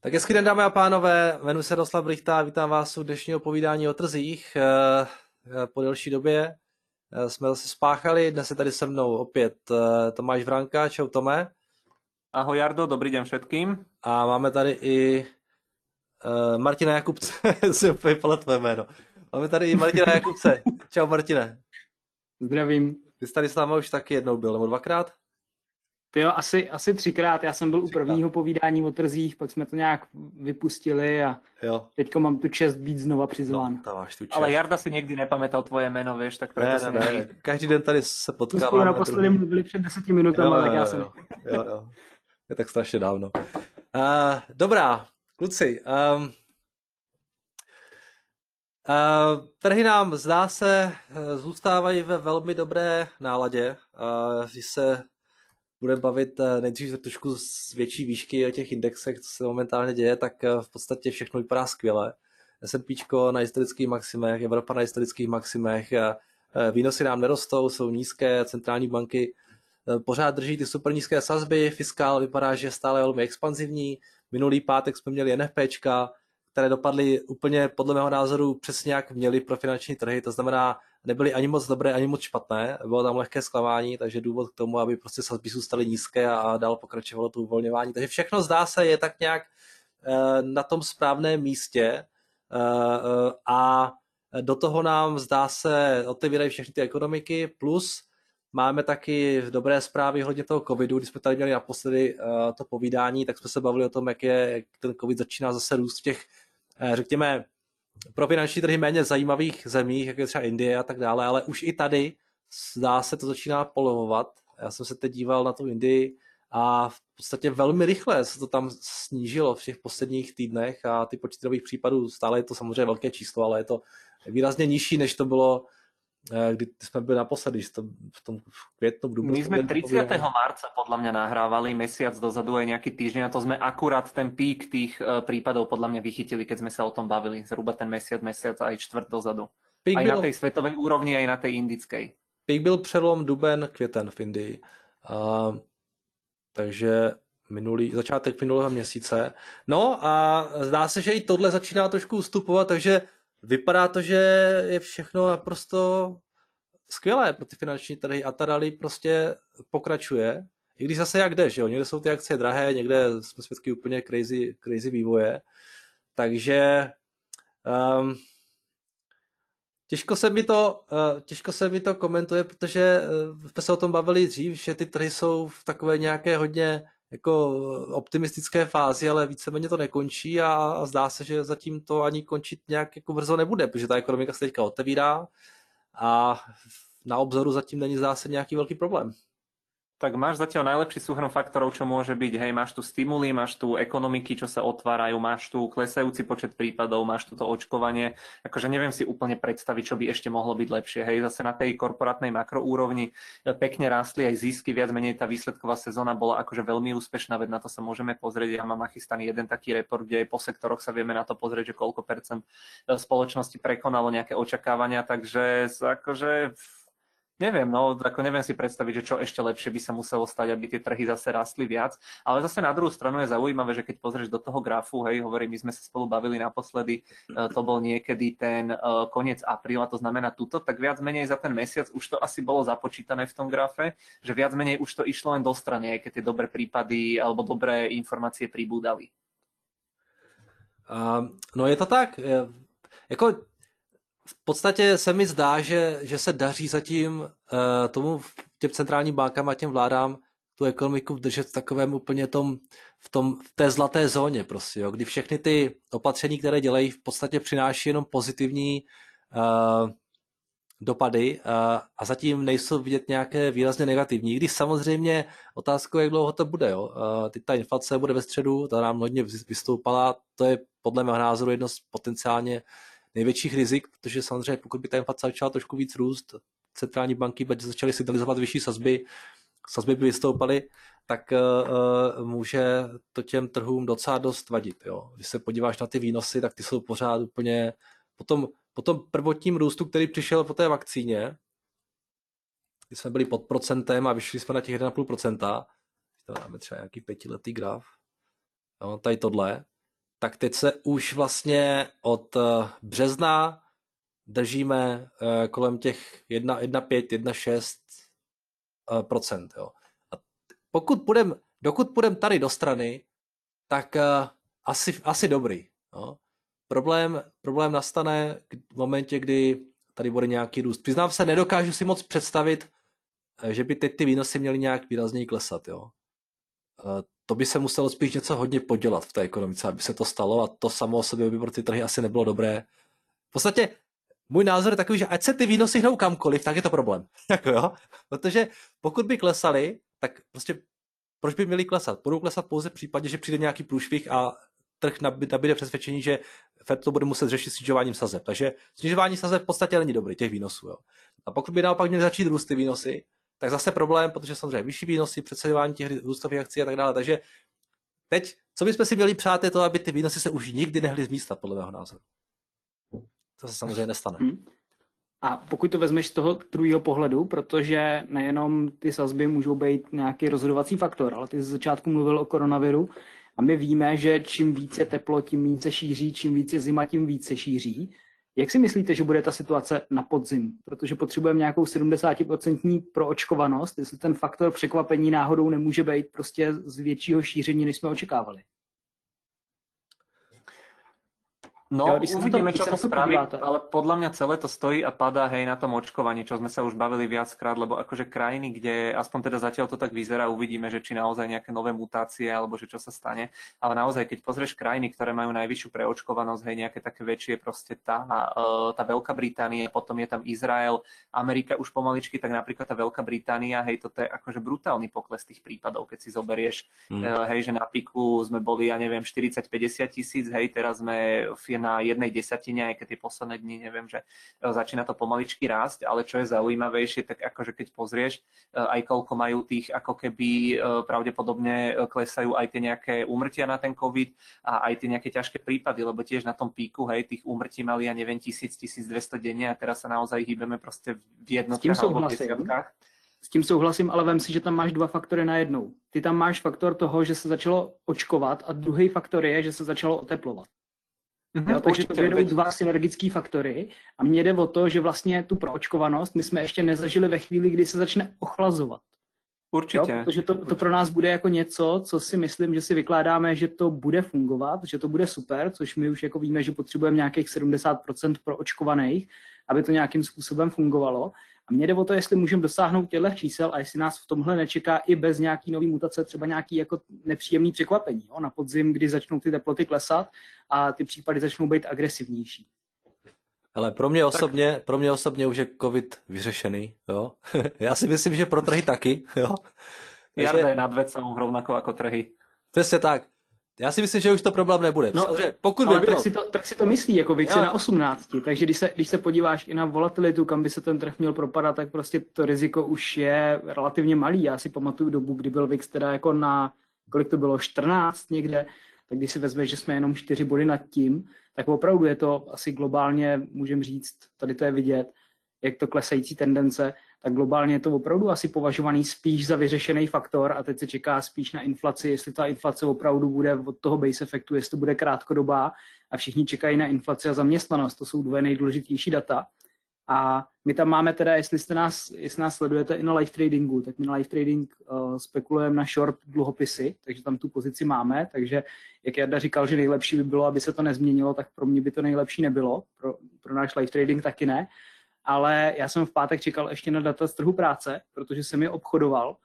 Tak hezký den, dámy a pánové, jmenuji se Jaroslav Brychta a vítám vás u dnešního povídání o trzích. Po delší době jsme zase spáchali, dnes je tady se mnou opět Tomáš Vranka. Čau Tome. Ahoj Jardo, dobrý den všetkým. A máme tady i Martina Jakubce, si úplně pala tvé jméno. Máme tady i Martina Jakubce. Čau Martine. Zdravím. Ty jsi tady s námi už taky jednou byl, nebo dvakrát? Jo, asi 3krát. Já jsem byl u prvního povídání o trzích, pak jsme to nějak vypustili a teďko mám tu čest být znova přizván. No, máš tu čest. Ale Jarda si nikdy nepamätal tvoje jméno, vieš, tak proto ne. Každý den tady se potkáváme. Spolu naposledy mluvili před 10 minutami, tak já jsem... Jo. Je tak strašně dávno. Dobrá, kluci. Trhy nám, zdá se, zůstávají ve velmi dobré náladě. Když se budeme bavit nejdřív trošku z větší výšky o těch indexech, co se momentálně děje, tak v podstatě všechno vypadá skvěle. S&Pčko na historických maximech, Evropa na historických maximech, výnosy nám nerostou, jsou nízké, centrální banky pořád drží ty super nízké sazby, fiskál vypadá, že je stále velmi expanzivní. Minulý pátek jsme měli NFPčka, které dopadly úplně podle mého názoru přesně jak měly pro finanční trhy, to znamená, nebyly ani moc dobré, ani moc špatné, bylo tam lehké zklamání, takže důvod k tomu, aby prostě sazby zůstaly nízké a dál pokračovalo to uvolňování. Takže všechno zdá se je tak nějak na tom správném místě a do toho nám zdá se otevírají všechny ty ekonomiky, plus máme taky dobré zprávy hodně toho covidu, když jsme tady měli naposledy to povídání, tak jsme se bavili o tom, jak ten covid začíná zase růst v těch, řekněme, pro finanční trhy méně zajímavých zemích, jako je třeba Indie a tak dále, ale už i tady zdá se to začíná polevovat. Já jsem se teď díval na tu Indii a v podstatě velmi rychle se to tam snížilo v těch posledních týdnech a ty počty nových případů, stále je to samozřejmě velké číslo, ale je to výrazně nižší, než to bylo, kdy jsme byli naposledy, v tom květnu, v dubnu. My sme 30. marca podľa mňa nahrávali, mesiac dozadu aj nejaký týždeň a to sme akurát ten pík tých prípadov podľa mňa vychytili, keď sme sa o tom bavili, zhruba ten mesiac aj čtvrt dozadu. Pík aj na tej svetovej úrovni, aj na tej indickej. Pík byl přelom duben, květen v Indii. Takže začátek minulého měsíce. No a zdá se, že i tohle začíná trošku ustupovat, takže vypadá to, že je všechno naprosto skvělé pro ty finanční trhy a ta rally prostě pokračuje. I když zase jak jde, že jo? Někde jsou ty akcie drahé, někde jsme svědky úplně crazy vývoje. Takže těžko se mi to komentuje, protože jsme se o tom bavili dřív, že ty trhy jsou v takové nějaké hodně jako optimistické fázi, ale víceméně to nekončí a zdá se, že zatím to ani končit nějak jako brzo nebude, protože ta ekonomika se teďka otevírá a na obzoru zatím není, zdá se, nějaký velký problém. Tak máš zatiaľ najlepší súhrn faktorov, čo môže byť. Hej, máš tu stimuly, máš tu ekonomiky, čo sa otvárajú, máš tu klesajúci počet prípadov, máš tu to očkovanie. Akože neviem si úplne predstaviť, čo by ešte mohlo byť lepšie. Hej, zase na tej korporátnej makroúrovni pekne rástli aj zisky, viac menej tá výsledková sezóna bola akože veľmi úspešná, veď na to sa môžeme pozrieť. Ja mám nachystaný jeden taký report, kde po sektoroch sa vieme na to pozrieť, že koľko percent spoločnosti prekonalo nejaké očakávania, takže akože neviem, no, ako neviem si predstaviť, že čo ešte lepšie by sa muselo stať, aby tie trhy zase rastli viac. Ale zase na druhú stranu je zaujímavé, že keď pozrieš do toho grafu, hej, hovorím, my sme sa spolu bavili naposledy, to bol niekedy ten koniec apríla, to znamená tuto, tak viac menej za ten mesiac už to asi bolo započítané v tom grafe, že viac menej už to išlo len do strany, aj keď tie dobré prípady alebo dobré informácie pribúdali. No je to tak, jako v podstatě se mi zdá, že se daří zatím těm centrálním bankám a těm vládám tu ekonomiku držet v takovém úplně v té zlaté zóně prostě, jo, kdy všechny ty opatření, které dělají, v podstatě přináší jenom pozitivní dopady a zatím nejsou vidět nějaké výrazně negativní. Když samozřejmě otázkou, jak dlouho to bude. Jo. Teď ta inflace bude ve středu, ta nám hodně vystoupala, to je podle mého názoru jedno z potenciálně největších rizik, protože samozřejmě pokud by ta inflace začala trošku víc růst, centrální banky by začaly signalizovat vyšší sazby by vystoupaly, tak může to těm trhům docela dost vadit. Jo. Když se podíváš na ty výnosy, tak ty jsou pořád úplně po tom prvotním růstu, který přišel po té vakcíně, kdy jsme byli pod procentem a vyšli jsme na těch 1,5%, to máme třeba nějaký 5letý graf, jo, tady tohle, tak teď se už vlastně od března držíme kolem těch 1,5, 1,6%. Jo. A dokud půjdeme tady do strany, tak asi dobrý. Jo. Problém nastane v momentě, kdy tady bude nějaký růst. Přiznám se, nedokážu si moc představit, že by teď ty výnosy měly nějak výrazněji klesat. Jo. To by se muselo spíš něco hodně podělat v té ekonomice, aby se to stalo, a to samo o sobě by pro ty trhy asi nebylo dobré. V podstatě můj názor je takový, že ať se ty výnosy hnou kamkoliv, tak je to problém. Jo? Protože pokud by klesaly, tak prostě proč by měly klesat? Budou klesat pouze v případě, že přijde nějaký průšvih a trh nabíde přesvědčení, že Fed to bude muset řešit snižováním sazeb. Takže snižování sazeb v podstatě není dobrý, těch výnosů. Jo? A pokud by naopak měly začít růst ty výnosy, tak zase problém, protože samozřejmě vyšší výnosy, přeceňování těch růstových akcí a tak dále. Takže teď, co bychom si měli přát, je to, aby ty výnosy se už nikdy nehly z místa, podle mého názoru. To se samozřejmě nestane. A pokud to vezmeš z toho druhého pohledu, protože nejenom ty sazby můžou být nějaký rozhodovací faktor, ale ty z začátku mluvil o koronaviru a my víme, že čím více teplo, tím více šíří, čím více zima, tím více šíří. Jak si myslíte, že bude ta situace na podzim? Protože potřebujeme nějakou 70% proočkovanost, jestli ten faktor překvapení náhodou nemůže být prostě z většího šíření, než jsme očekávali. No, uvidíme, čo to spraví, ale podľa mňa celé to stojí a padá na tom očkovaní, čo sme sa už bavili viackrát, lebo akože krajiny, kde aspoň teda zatiaľ to tak vyzerá, uvidíme, že či naozaj nejaké nové mutácie, alebo že čo sa stane, ale naozaj, keď pozrieš krajiny, ktoré majú najvyššiu preočkovanosť, nejaké také väčšie, proste tá Veľká Británia, potom je tam Izrael, Amerika už pomaličky, tak napríklad tá Veľká Británia, toto je akože brutálny pokles tých prípadov, keď si zoberieš, že na píku sme boli, ja neviem, 40-50 tisíc, teraz sme na 1/10, aj keď tie posledné dni, neviem, že začína to pomaličky rásť, ale čo je zaujímavejšie, tak akože keď pozrieš, aj koľko majú tých, ako keby pravdepodobne klesajú aj tie nejaké úmrtia na ten COVID a aj tie nejaké ťažké prípady, lebo tiež na tom píku, tých úmrtí mali, ja neviem, 1000-1200 denne a teraz sa naozaj hýbeme proste v jednotkách alebo v desiatkách. S tím souhlasím, ale vem si, že tam máš dva faktory najednou. Ty tam máš faktor toho, že se začalo očkovat a druhý faktor je, že se začalo oteplovat. Takže to budou dva synergické faktory a mně jde o to, že vlastně tu proočkovanost my jsme ještě nezažili ve chvíli, kdy se začne ochlazovat. Určitě. Protože to pro nás bude jako něco, co si myslím, že si vykládáme, že to bude fungovat, že to bude super, což my už jako víme, že potřebujeme nějakých 70% proočkovaných, aby to nějakým způsobem fungovalo. A mně jde o to, jestli můžeme dosáhnout těchto čísel a jestli nás v tomhle nečeká i bez nějaký nový mutace třeba nějaký jako nepříjemný překvapení. Na podzim, kdy začnou ty teploty klesat a ty případy začnou být agresivnější. Ale pro mě osobně už je COVID vyřešený. Jo? Já si myslím, že pro trhy taky. Jo? Jarda je nad vecou rovnako ako trhy. Přesně tak. Já si myslím, že už to problém nebude. Pokud by bylo... tak si to myslí, jako VIX je na 18, takže když se podíváš i na volatilitu, kam by se ten trh měl propadat, tak prostě to riziko už je relativně malý. Já si pamatuju dobu, kdy byl VIX teda jako na, kolik to bylo, 14 někde, tak když si vezmeš, že jsme jenom 4 body nad tím, tak opravdu je to asi globálně, můžem říct, tady to je vidět, jak to klesající tendence, tak globálně je to opravdu asi považovaný spíš za vyřešený faktor a teď se čeká spíš na inflaci, jestli ta inflace opravdu bude od toho base efektu, jestli to bude krátkodobá a všichni čekají na inflaci a zaměstnanost, to jsou dvě nejdůležitější data. A my tam máme teda, jestli nás sledujete i na live tradingu, tak my na live trading spekulujeme na short dluhopisy, takže tam tu pozici máme, takže jak Jarda říkal, že nejlepší by bylo, aby se to nezměnilo, tak pro mě by to nejlepší nebylo, pro náš live trading taky ne. Ale já jsem v pátek čekal ještě na data z trhu práce, protože jsem je obchodoval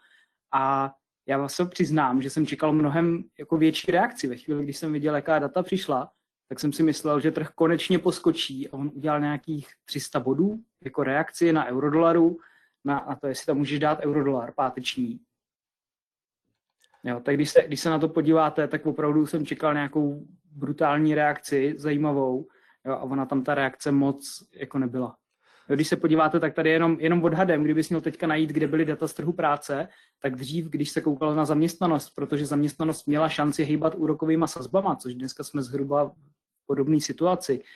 a já vás se přiznám, že jsem čekal mnohem jako větší reakci. Ve chvíli, když jsem viděl, jaká data přišla, tak jsem si myslel, že trh konečně poskočí a on udělal nějakých 300 bodů jako reakci na eurodolaru, na to, jestli tam můžeš dát eurodolar páteční. Jo, tak když se na to podíváte, tak opravdu jsem čekal nějakou brutální reakci, zajímavou, jo, a ona tam ta reakce moc jako nebyla. Když se podíváte, tak tady jenom odhadem, kdybys měl teďka najít, kde byly data z trhu práce, tak dřív, když se koukalo na zaměstnanost, protože zaměstnanost měla šanci hýbat úrokovýma sazbama, což dneska jsme zhruba v podobné situaci,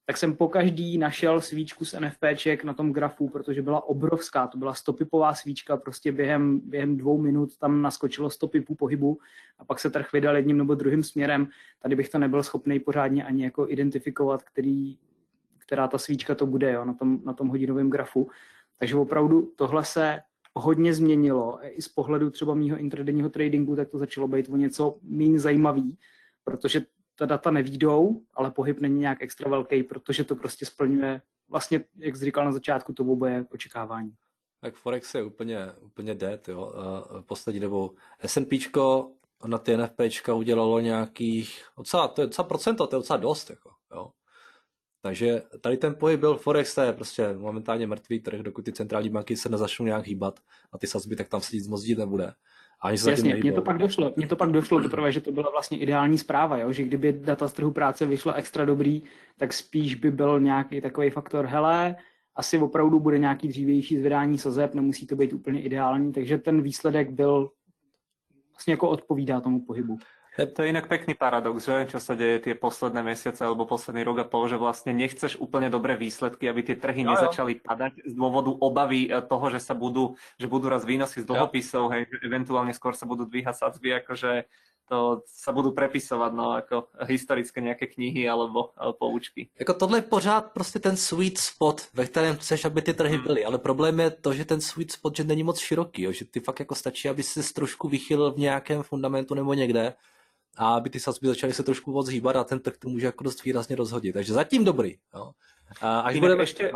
tak jsem pokaždý našel svíčku z NFPček na tom grafu, protože byla obrovská, to byla 100pipová svíčka, prostě během 2 minut tam naskočilo 100 pipů pohybu a pak se trh vydal jedním nebo druhým směrem. Tady bych to nebyl schopný pořádně ani jako identifikovat, která ta svíčka to bude, jo, na tom hodinovém grafu. Takže opravdu tohle se hodně změnilo. I z pohledu třeba mýho intradenního tradingu, tak to začalo být o něco méně zajímavý, protože ta data nevídou, ale pohyb není nějak extra velký, protože to prostě splňuje vlastně, jak jsi říkal na začátku, to oboje očekávání. Tak Forex je úplně dead, jo. Poslední dobou S&Pčko na ty NFPčka udělalo nějakých, to je docela procento, to je docela dost, jako, jo. Takže tady ten pohyb byl Forex, to je prostě momentálně mrtvý trh, dokud ty centrální banky se nezačnou nějak hýbat a ty sazby, tak tam se nic moc dít nebude. Jasně, mně to pak došlo teprve, že to byla vlastně ideální zpráva, jo? Že kdyby data z trhu práce vyšla extra dobrý, tak spíš by byl nějaký takový faktor, hele, asi opravdu bude nějaký dřívější zvedání sazeb, nemusí to být úplně ideální, takže ten výsledek byl vlastně jako odpovídá tomu pohybu. To je inak pekný paradox, že? Čo sa deje tie posledné mesiace alebo posledný rok a pol, že vlastne nechceš úplne dobré výsledky, aby tie trhy nezačali padať z dôvodu obavy toho, že budú raz výnosy z dlhopisov, hej, eventuálne skôr sa budú dvíhať sadzby, akože to sa budú prepisovať, no, ako historické nejaké knihy alebo poučky. Jako tohle je pořád prostě ten sweet spot, ve kterém chceš, aby ty trhy byly, ale problém je to, že ten sweet spot, že není moc široký, jo? Že ty fakt jako stačí, aby se trošku vychylil v nějakém fundamentu nebo někde, a aby ty sazby začaly se trošku moc hýbat a ten trh to může jako dost výrazně rozhodit. Takže zatím dobrý. Jo. Až budeme, ještě...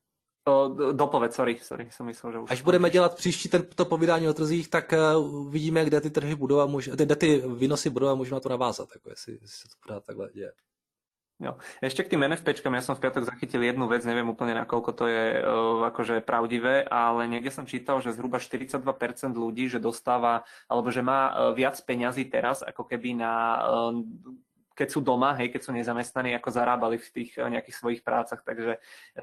Dopověd, sorry, jsem myslel, že už... Až budeme dělat příští to povídání o trzích, tak uvidíme, kde ty trhy budou a kde ty výnosy budou a můžeme na to navázat, jako jestli se to pořád takhle děje. Jo. Ešte k tým NFPčkám, ja som v piatok zachytil jednu vec, neviem úplne nakoľko to je akože pravdivé, ale niekde som čítal, že zhruba 42% ľudí, že dostáva, alebo že má viac peňazí teraz, ako keby keď sú doma, hej, keď sú nezamestnaní, ako zarábali v tých nejakých svojich prácach, takže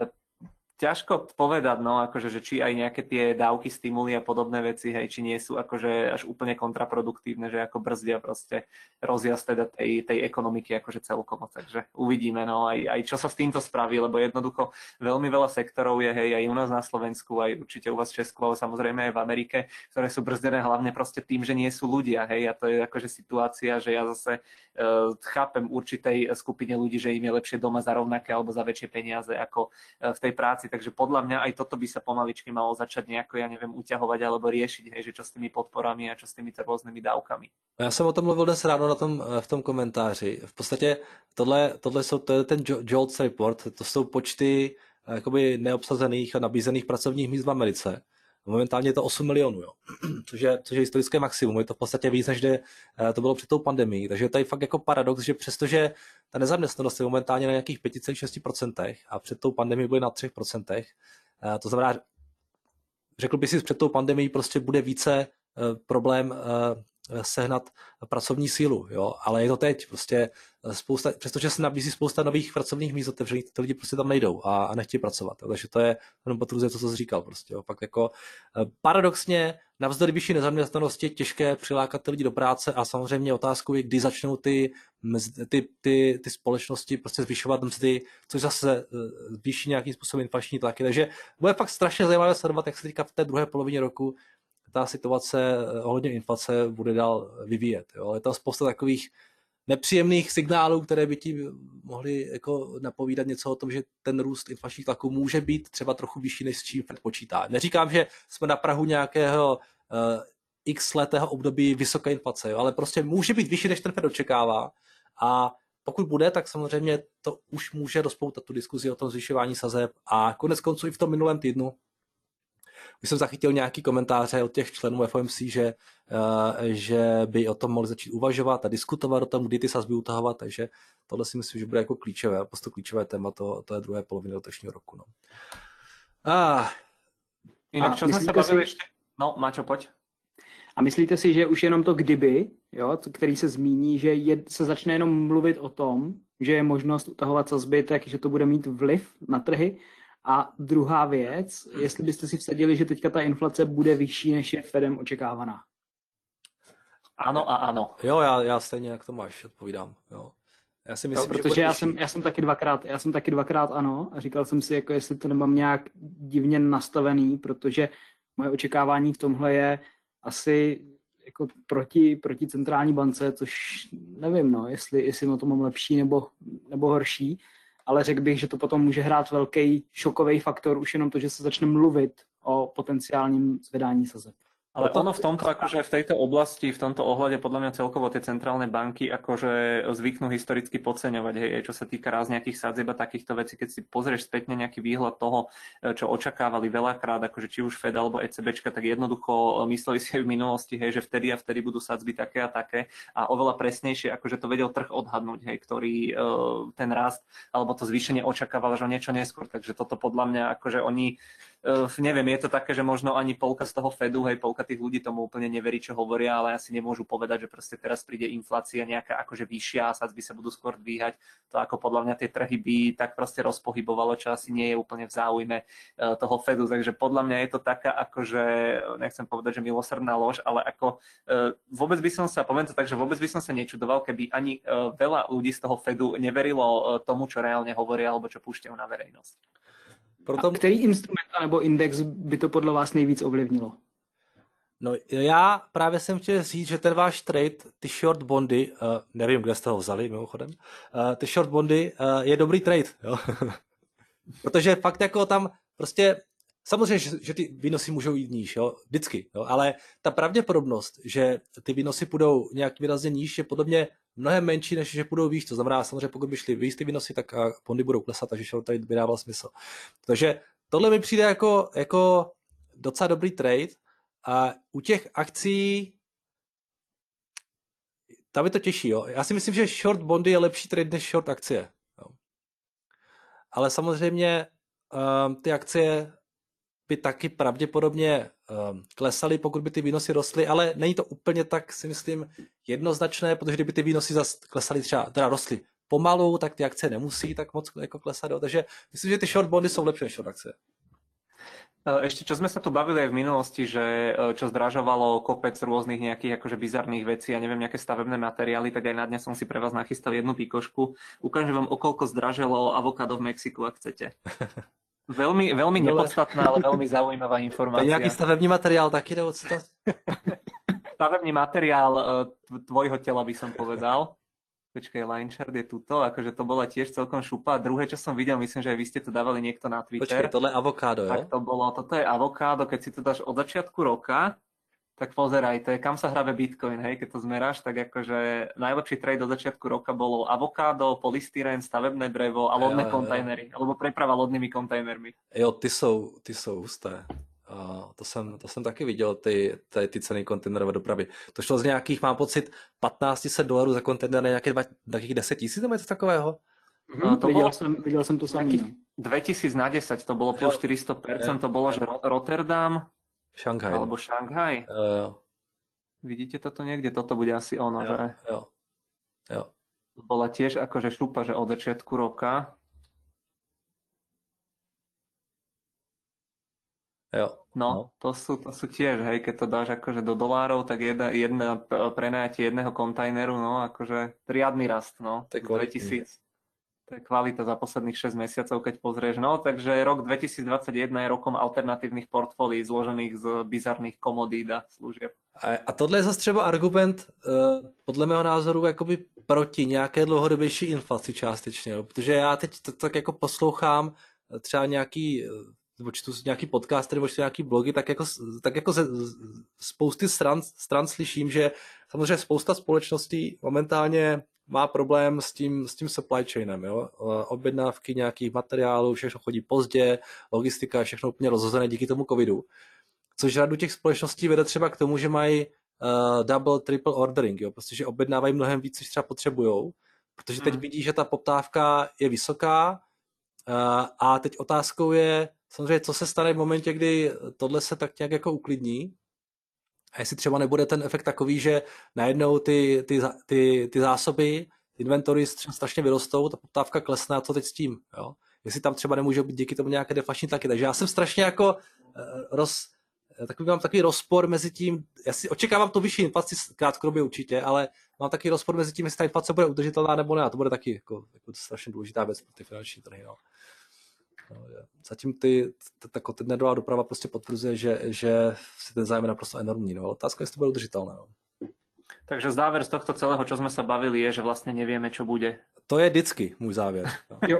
ťažko povedať, no, akože, že či aj nejaké tie dávky, stimuly a podobné veci, hej, či nie sú akože až úplne kontraproduktívne, že ako brzdia proste rozjazd teda tej ekonomiky akože celkovo, takže uvidíme, no, aj čo sa s týmto spraví, lebo jednoducho veľmi veľa sektorov je, hej, aj u nás na Slovensku, aj určite u vás v Česku, ale samozrejme aj v Amerike, ktoré sú brzdené hlavne proste tým, že nie sú ľudia, hej, a to je akože situácia, že ja zase chápem určitej skupine ľudí, že im je lepšie doma za rovnaké alebo za väčšie peniaze ako v tej práci. Takže podľa mňa aj toto by sa pomaličky malo začať nejako, ja neviem, uťahovať alebo riešiť, hej, že čo s tými podporami a čo s týmito rôznymi dávkami. Já jsem o tom mluvil dnes ráno v tom komentáři. V podstatě to je ten JOLTS report, to jsou počty jakoby neobsazených a nabízených pracovních míst v Americe. Momentálně je to 8 milionů, jo. Což je historické maximum. Je to v podstatě víc, než to bylo před tou pandemií. Takže to je fakt jako paradox, že přestože ta nezaměstnanost je momentálně na nějakých 5,6% a před tou pandemií byly na 3%, to znamená, řekl bych si, před tou pandemií prostě bude více problém sehnat pracovní sílu, jo, ale je to teď prostě přestože se nabízí spousta nových pracovních míst otevřených, ty lidi prostě tam nejdou a nechtějí pracovat, jo, takže to je jenom potvrzuje to, co jsi říkal prostě, jo, fakt jako paradoxně navzdory vyšší nezaměstnanosti je těžké přilákat ty lidi do práce a samozřejmě otázkou je, kdy začnou ty společnosti prostě zvyšovat mzdy, což zase zvýší nějakým způsobem inflační tlaky, takže bude fakt strašně zajímavé sledovat, jak se teďka v té druhé polovině roku ta situace ohledně inflace bude dál vyvíjet. Jo. Je tam spousta takových nepříjemných signálů, které by ti mohly jako napovídat něco o tom, že ten růst inflačních tlaků může být třeba trochu vyšší, než s čím Fed počítá. Neříkám, že jsme na prahu nějakého x letého období vysoké inflace, jo, ale prostě může být vyšší, než ten Fed očekává. A pokud bude, tak samozřejmě to už může rozpoutat tu diskuzi o tom zvyšování sazeb. A konec konců i v tom minulém týdnu už jsem zachytil nějaký komentáře od těch členů FOMC, že by o tom mohli začít uvažovat a diskutovat o tom, kdy ty sazby utahovat, takže tohle si myslím, že bude jako klíčové, prostě klíčové téma to je druhé poloviny letošního roku. No. Jinak, čo sme sa bavili ešte? No, Maťo, poď. A myslíte si, že už jenom to kdyby, jo, který se zmíní, že se začne jenom mluvit o tom, že je možnost utahovat sazby, takže to bude mít vliv na trhy? A druhá věc, jestli byste si vsadili, že teďka ta inflace bude vyšší, než je Fedem očekávaná. Ano a ano. Jo, já stejně jak to máš, odpovídám. Jo. Já si Jo, myslím, protože že já jsem taky dvakrát ano a říkal jsem si, jako jestli to nemám nějak divně nastavený, protože moje očekávání v tomhle je asi jako proti centrální bance, což nevím, no, jestli na to mám lepší nebo horší, ale řekl bych, že to potom může hrát velký šokový faktor, už jenom to, že se začne mluvit o potenciálním zvedání sazeb. Ale ono v tomto, akože v tejto oblasti, v tomto ohľade podľa mňa celkovo tie centrálne banky akože zvyknú historicky podceňovať, hej, čo sa týka raz nejakých sadzieb a takýchto vecí, keď si pozrieš spätne nejaký výhľad toho, čo očakávali veľakrát, akože či už Fed alebo ECBčka, tak jednoducho mysleli si aj v minulosti, hej, že vtedy a vtedy budú sadzby také a také a oveľa presnejšie, akože to vedel trh odhadnúť, hej, ktorý ten rast alebo to zvýšenie očakával, že niečo neskôr, takže toto podľa mňa akože oni neviem, je to také, že možno ani polka z toho Fedu, hej, polka tých ľudí tomu úplne neverí, čo hovoria, ale asi nemôžu povedať, že proste teraz príde inflácia nejaká akože vyššia a sadzby sa budú skôr dvíhať. To ako podľa mňa tie trhy by tak proste rozpohybovalo, čo asi nie je úplne v záujme toho Fedu. Takže podľa mňa je to taká akože, nechcem povedať, že milosrdná lož, ale ako vôbec by som sa, poviem to tak, že vôbec by som sa nečudoval, keby ani veľa ľudí z toho Fedu neverilo tomu, čo reálne hovoria alebo čo púšťajú na verejnosť. A který instrument nebo index by to podle vás nejvíc ovlivnilo? No já právě jsem chtěl říct, že ten váš trade, ty short bondy, nevím, kde jste ho vzali mimochodem, ty short bondy je dobrý trade, jo? Protože fakt jako tam prostě, samozřejmě, že ty výnosy můžou jít níž, jo? Vždycky, jo? Ale ta pravděpodobnost, že ty výnosy půjdou nějak výrazně níž, je podle mě mnohem menší, než že půjdou výš. To znamená, samozřejmě, pokud by šly výš ty výnosy, tak bondy budou klesat, takže short trade by dával smysl. Takže tohle mi přijde jako docela dobrý trade. A u těch akcí tam je to těžší. Jo? Já si myslím, že short bondy je lepší trade než short akcie. Jo? Ale samozřejmě ty akcie by taky pravděpodobně klesaly, pokud by ty výnosy rostly, ale není to úplně tak, si myslím, jednoznačné, protože kdyby ty výnosy zase klesaly teda rostly pomalu, tak ty akcie nemusí tak moc jako klesat. Jo? Takže myslím, že ty short bondy jsou lepší než short akcie. Ešte, čo sme sa tu bavili aj v minulosti, že čo zdražovalo kopec rôznych nejakých akože bizarných vecí, ja neviem, nejaké stavebné materiály, tak aj na dňa som si pre vás nachystal jednu pikošku. Ukážem vám, o koľko zdražilo avokádo v Mexiku, ak chcete. Veľmi, veľmi nepodstatná, ale veľmi zaujímavá informácia. To je nejaký stavebný materiál taký, nebo co to? Stavebný materiál tvojho tela, by som povedal. Počkej, line chart je tuto, akože to bola tiež celkom šupa. A druhé, čo som videl, myslím, že aj vy ste to dávali niekto na Twitter. Počkej, tohle je avokádo, jo? Tak to bolo, toto je avokádo, keď si to dáš od začiatku roka, tak pozeraj, to je kam sa hrabe Bitcoin, hej, keď to zmeráš, tak akože najlepší trade od začiatku roka bolo avokádo, polystyrén, stavebné drevo a lodné kontajnery, alebo preprava lodnými kontajnermi. Jo, ty jsou husté. To jsem taky viděl, ty ceny kontejnerové dopravy. To šlo z nějakých, mám pocit, $1500 za kontejner na nějakých 10 000, nebo něco takového? Viděl jsem to samý. 2000 na 10, to bolo plus 400%, to bolo, že Rotterdam, Šanghaj. Alebo Šanghaj. Vidíte toto niekde? Toto bude asi ono, že? Jo. To bola tiež akože šupa, že od začiatku roka. Jo. No, to sú tiež, hej, keď to dáš akože do dolárov, tak jedna prenajatie jedného kontajneru, no, akože riadny rast, no, to je 2000. To je kvalita za posledných 6 mesiacov, keď pozrieš. No, takže rok 2021 je rokom alternatívnych portfólií zložených z bizarných komodít a služieb. A tohle je zase třeba argument, podle mého názoru, jakoby proti nějaké dlouhodobější inflaci částečně, jo? Protože já teď tak jako poslouchám třeba nějaký nebo čtu nějaký podcast, nebo čtu nějaký blogy, tak jako ze spousty stran slyším, že samozřejmě spousta společností momentálně má problém s tím supply chainem. Jo? Objednávky nějakých materiálů, všechno chodí pozdě, logistika je všechno úplně rozhozené díky tomu covidu. Což řadu těch společností vede třeba k tomu, že mají double, triple ordering, jo? Prostě, že objednávají mnohem víc, než třeba potřebujou, protože teď vidí, že ta poptávka je vysoká a teď otázkou je samozřejmě, co se stane v momentě, kdy tohle se tak nějak jako uklidní a jestli třeba nebude ten efekt takový, že najednou ty zásoby, inventory strašně vyrostou, ta poptávka klesne a co teď s tím, jo? Jestli tam třeba nemůže být díky tomu nějaké deflační tlaky. Takže já jsem strašně jako mám takový rozpor mezi tím, já si očekávám tu vyšší inflaci krátkodobě určitě, ale mám takový rozpor mezi tím, jestli ta inflace bude udržitelná nebo ne, a to bude taky jako strašně důležitá věc pro ty finanční trhy. No. Zatím ten nedová doprava prostě potvrzuje, že si ten zájem je naprosto enormní. No. Otázka je, jestli to bude udržitelné. No. Takže záver z tohto celého, čo sme sa bavili, je, že vlastne nevieme, čo bude. To je vždycky můj závěr. No. Jo.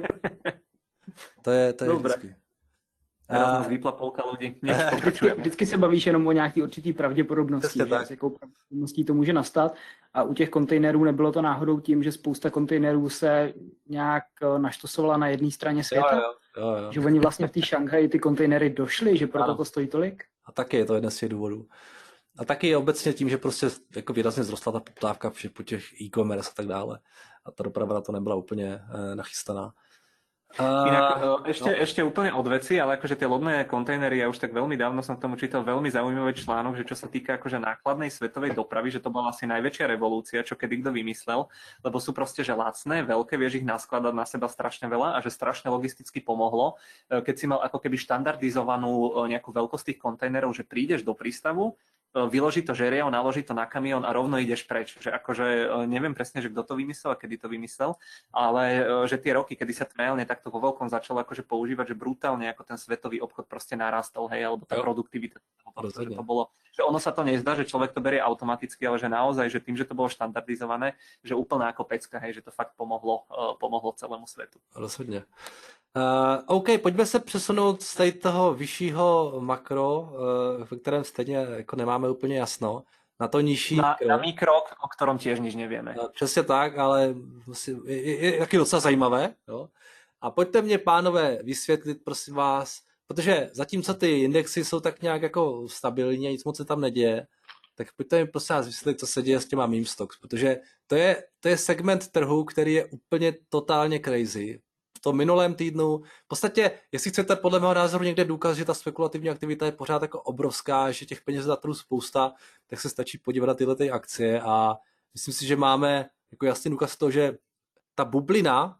To je vždycky. Teraz nás vypla polka ľudí. Vždycky se bavíš jenom o nějaký určitý pravděpodobnosti, že s jakou pravděpodobností to může nastat. A u těch kontejnerů nebylo to náhodou tím, že spousta kontejnerů se nějak naštosovala na jedné straně světa? Jo. Že oni vlastně v té Šanghaji ty kontejnery došly, že proto to stojí tolik? A taky je to jeden z těch důvodů. A taky obecně tím, že prostě jako výrazně vzrostla ta poptávka po těch e-commerce a tak dále. A ta doprava na to nebyla úplně nachystaná. Inak ešte úplne od veci, ale akože tie lodné kontejnery, ja už tak veľmi dávno som k tomu čítal veľmi zaujímavý článok, že čo sa týka akože nákladnej svetovej dopravy, že to bola asi najväčšia revolúcia, čo kedy kto vymyslel, lebo sú proste že lacné, veľké, vieš ich naskladať na seba strašne veľa a že strašne logisticky pomohlo, keď si mal ako keby štandardizovanú nejakú veľkosť tých kontajnerov, že prídeš do prístavu, vyloží to žeriav, naloží to na kamión a rovno ideš preč. Že akože neviem presne, že kto to vymyslel a kedy to vymyslel, ale že tie roky, kedy sa to reálne takto vo veľkom začalo akože používať, že brutálne ako ten svetový obchod proste narastol, hej, alebo tá produktivita. Že to bolo, že ono sa to nezdá, že človek to berie automaticky, ale že naozaj, že tým, že to bolo štandardizované, že úplná ako pecka, hej, že to fakt pomohlo celému svetu. Rozhodně. OK, pojďme se přesunout z tady toho vyššího makro, ve kterém stejně jako nemáme úplně jasno, na to nižší na mikro, o ktorom tiež nič nevieme. Přesně tak, ale je taky docela zajímavé. Jo? A pojďte mě, pánové, vysvětlit, prosím vás, protože zatímco ty indexy jsou tak nějak jako stabilní a nic moc se tam neděje, tak pojďte mi prosím vás vysvětlit, co se děje s těma meme stocks, protože to je segment trhu, který je úplně totálně crazy. V tom minulém týdnu, v podstatě, jestli chcete podle mého názoru někde důkaz, že ta spekulativní aktivita je pořád jako obrovská, že těch peněz na trhu spousta, tak se stačí podívat na tyhle akcie a myslím si, že máme jako jasný důkaz toho, že ta bublina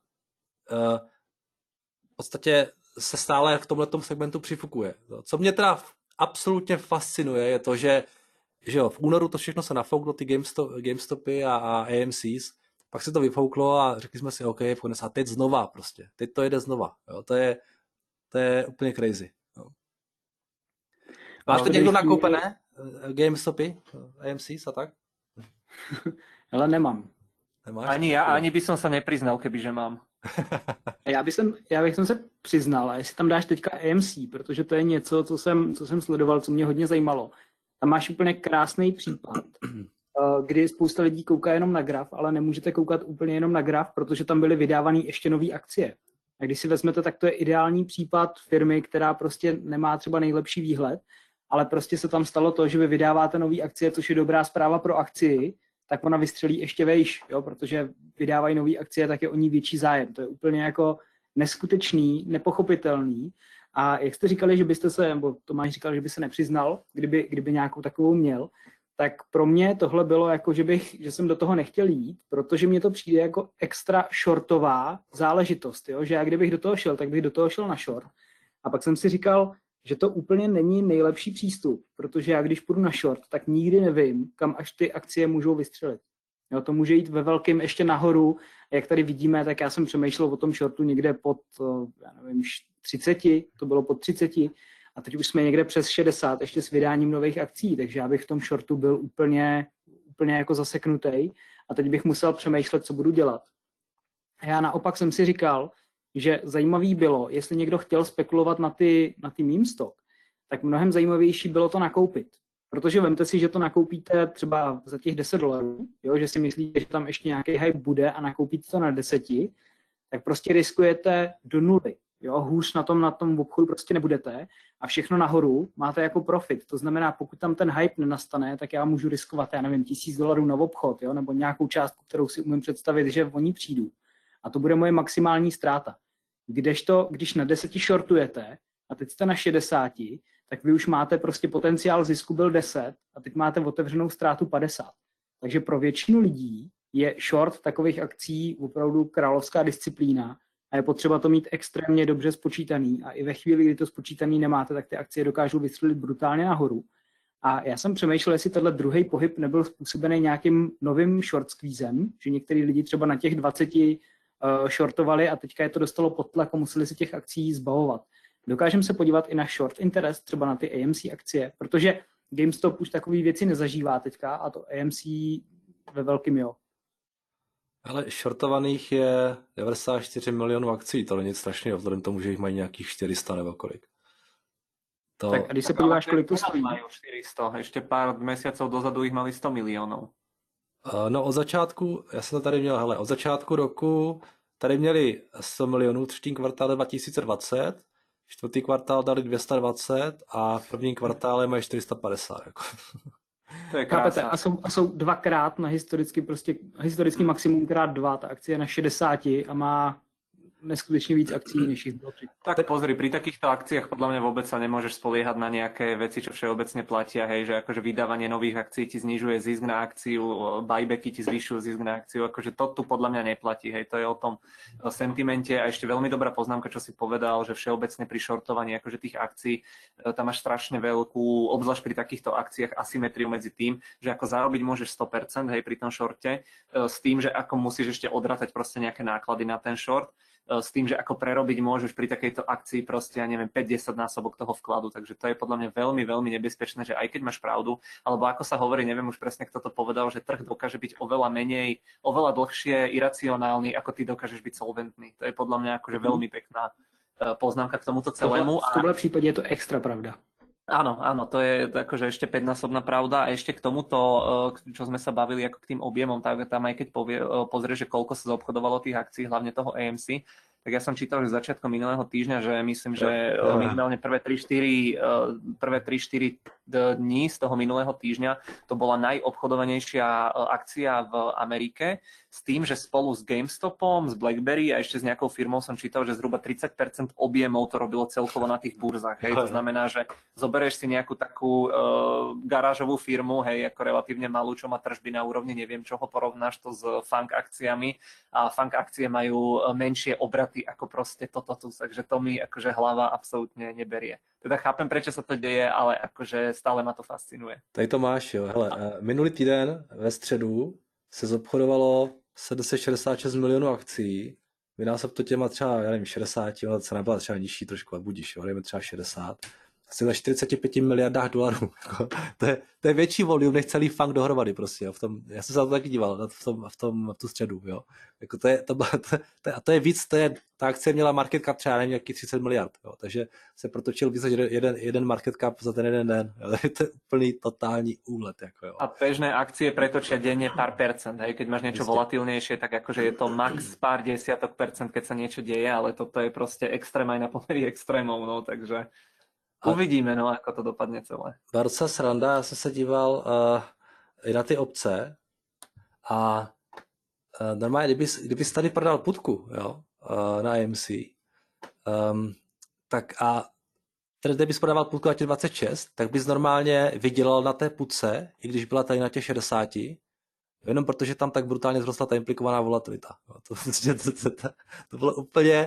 v podstatě se stále v tomhletom segmentu přifukuje. Co mě teda absolutně fascinuje, je to, že jo, v únoru to všechno se nafouklo, ty GameStopy a AMCs, pak se to vyfouklo a řekli jsme si, OK, a teď znova prostě. Teď to jede znova. Jo. To je úplně crazy. Jo. Máte někdo nakoupené GameStopy, AMCs a tak? Ale nemám. Nemáš? Ani ja, ani by som sa nepriznal, kebyže mám. Já bych se přiznal, a jestli tam dáš teďka AMC, protože to je něco, co jsem sledoval, co mě hodně zajímalo. Tam máš úplně krásný případ, kdy spousta lidí kouká jenom na graf, ale nemůžete koukat úplně jenom na graf, protože tam byly vydávané ještě nové akcie. A když si vezmete, tak to je ideální případ firmy, která prostě nemá třeba nejlepší výhled, ale prostě se tam stalo to, že vy vydáváte nové akcie, což je dobrá zpráva pro akcii, tak ona vystřelí ještě vejš, jo, protože vydávají nové akcie, tak je o ní větší zájem. To je úplně jako neskutečný, nepochopitelný. A jak jste říkali, že byste se, nebo Tomáš říkal, že by se nepřiznal, kdyby nějakou takovou měl, tak pro mě tohle bylo jako, že jsem do toho nechtěl jít, protože mě to přijde jako extra shortová záležitost, jo? Že já kdybych do toho šel, tak bych do toho šel na short. A pak jsem si říkal, že to úplně není nejlepší přístup, protože já když půjdu na short, tak nikdy nevím, kam až ty akcie můžou vystřelit. Jo, to může jít ve velkém ještě nahoru. Jak tady vidíme, tak já jsem přemýšlel o tom shortu někde pod, já nevím, 30, to bylo pod 30 a teď už jsme někde přes 60, ještě s vydáním nových akcí, takže já bych v tom shortu byl úplně jako zaseknutý a teď bych musel přemýšlet, co budu dělat. A já naopak jsem si říkal, že zajímavý bylo, jestli někdo chtěl spekulovat na ty meme stock, tak mnohem zajímavější bylo to nakoupit. Protože vemte si, že to nakoupíte třeba za těch $10, jo, že si myslíte, že tam ještě nějaký hype bude a nakoupíte to na 10, tak prostě riskujete do nuly. Jo, hůř na tom obchodu prostě nebudete a všechno nahoru máte jako profit. To znamená, pokud tam ten hype nenastane, tak já můžu riskovat, já nevím, $1000 na obchod, jo, nebo nějakou částku, kterou si umím představit, že oni přijdu. A to bude moje maximální ztráta. Když na 10 shortujete a teď jste na 60, tak vy už máte prostě potenciál zisku byl 10 a teď máte otevřenou ztrátu 50. Takže pro většinu lidí je short takových akcí opravdu královská disciplína a je potřeba to mít extrémně dobře spočítaný a i ve chvíli, kdy to spočítaný nemáte, tak ty akcie dokážou vystřelit brutálně nahoru. A já jsem přemýšlel, jestli tenhle druhý pohyb nebyl způsobený nějakým novým short squeezem, že některý lidi třeba na těch 20 shortovali a teďka je to dostalo pod tlak a museli si těch akcí zbavovat. Dokážeme se podívat i na short interest, třeba na ty AMC akcie, protože GameStop už takové věci nezažívá teďka a to AMC ve velkým jo. Ale shortovaných je 94 milionů akcí, to není nic strašného, vzhledem tomu, že jich mají nějakých 400 nebo kolik. To... Tak a když se podíváš, kolik to stojí? Majú 400, ešte pár mesiacov dozadu ich mali 100 miliónov. No od začátku, já jsem to tady měl, hele, od začátku roku tady měli 100 milionů, třetí kvartál 2020, čtvrtý kvartál dali 220 a v prvním kvartále mají 450. Jako. To je krásné. A jsou dvakrát na historický maximum krát 2, ta akcie je na 60 a má neskutečne víc akcií, než ich bylo. Tak pozri, pri takýchto akciách podľa mňa vôbec sa nemôžeš spoliehať na nejaké veci, čo všeobecne platia, hej, že akože vydávanie nových akcií ti znižuje zisk na akciu, buybacky ti zvyšujú zisk na akciu, akože to tu podľa mňa neplatí, hej, to je o tom sentimente a ešte veľmi dobrá poznámka, čo si povedal, že všeobecne pri shortovaní akože tých akcií, tam máš strašne veľkú, obzvlášť pri takýchto akciách asymetriu medzi tým, že ako zarobiť môžeš 100%, hej, pri tom shorte, s tým, že ako musíš ešte odratať proste nejaké náklady na ten short, s tým, že ako prerobiť môžeš pri takejto akcii proste, ja neviem, 5-10 násobok toho vkladu, takže to je podľa mňa veľmi, veľmi nebezpečné, že aj keď máš pravdu, alebo ako sa hovorí, neviem už presne, kto to povedal, že trh dokáže byť oveľa menej, oveľa dlhšie iracionálny, ako ty dokážeš byť solventný. To je podľa mňa akože veľmi pekná poznámka k tomuto celému. V tomhle prípade je to extra pravda. Áno, to je akože ešte 5-násobná pravda a ešte k tomuto, čo sme sa bavili ako k tým objemom, tak tam aj keď pozrieš, že koľko sa zaobchodovalo tých akcií, hlavne toho AMC, tak ja som čítal, že začiatkom minulého týždňa, že myslím, že minimálne prvé 3-4 dní z toho minulého týždňa to bola najobchodovanejšia akcia v Amerike, s tým, že spolu s GameStopom, s BlackBerry a ešte s nejakou firmou som čítal, že zhruba 30% objemov to robilo celkovo na tých burzách. Hej. To znamená, že zoberieš si nejakú takú garážovú firmu, hej, ako relatívne malú, čo má tržby na úrovni, neviem čoho, porovnáš to s funk akciami a funk akcie majú menšie obraty ako proste toto tu, takže to mi akože hlava absolútne neberie. Teda chápem, prečo sa to deje, ale akože stále ma to fascinuje. Tady to máš, jo. Hele, minulý týden ve středu se zobchodovalo 766 milionů akcí, vynásob to těma třeba, já nevím, 60, ale cena byla třeba nižší trošku, ale budíš, jo, dejme třeba 60. Asi na 45 miliardách dolarů. To je větší volume než celý funk dohromady prostě. Jo. Já jsem se na to taky díval, v tu středu. Jo. Jako to je víc, ta akcie měla market cap třeba nevím, nějaký 30 miliard. Jo. Takže se protočil víc než jeden market cap za ten jeden den. Jo. To je úplný totální úlet. Jako, jo. A bežné akcie pretočia denne pár percent. Hej. Keď máš niečo volatilnejšie, tak akože je to max pár desiatok percent, keď sa niečo deje, ale toto je proste extrém aj na pomery extrémov. No, takže uvidíme, no, ako to dopadne celé. Barca sranda, já jsem se díval i na ty opce a normálně, kdybys tady prodal putku, jo, na AMC, tak a tedy kdybys prodával putku na těch 26, tak bys normálně vydělal na té putce, i když byla tady na těch 60, jenom protože tam tak brutálně vzrostla ta implikovaná volatilita. To bylo úplně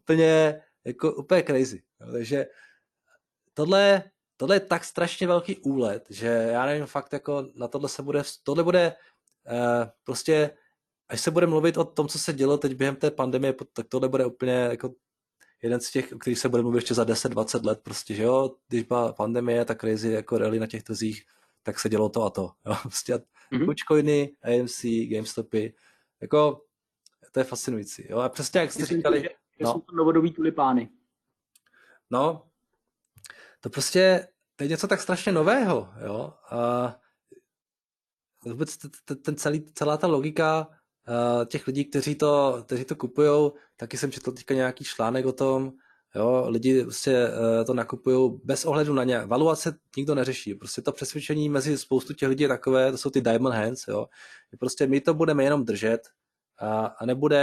crazy. Jo, takže tohle je tak strašně velký úlet, že já nevím fakt jako na tohle bude prostě, až se bude mluvit o tom, co se dělo teď během té pandemie, tak tohle bude úplně jako jeden z těch, o kterých se bude mluvit ještě za 10-20 let prostě, že jo, když byla pandemie, tak crazy jako rally na těch trzích, tak se dělo to a to, jo, prostě Dogecoiny, AMC, GameStopy, jako to je fascinující, jo, a přesně jak jste říkali, jsou to novodobí tulipány. No, to prostě, to je něco tak strašně nového, jo, a vůbec celá ta logika těch lidí, kteří to kupujou, taky jsem četl teďka nějaký článek o tom, jo, lidi prostě to nakupujou bez ohledu na ně, valuace nikdo neřeší, prostě to přesvědčení mezi spoustu těch lidí je takové, to jsou ty diamond hands, jo, prostě my to budeme jenom držet a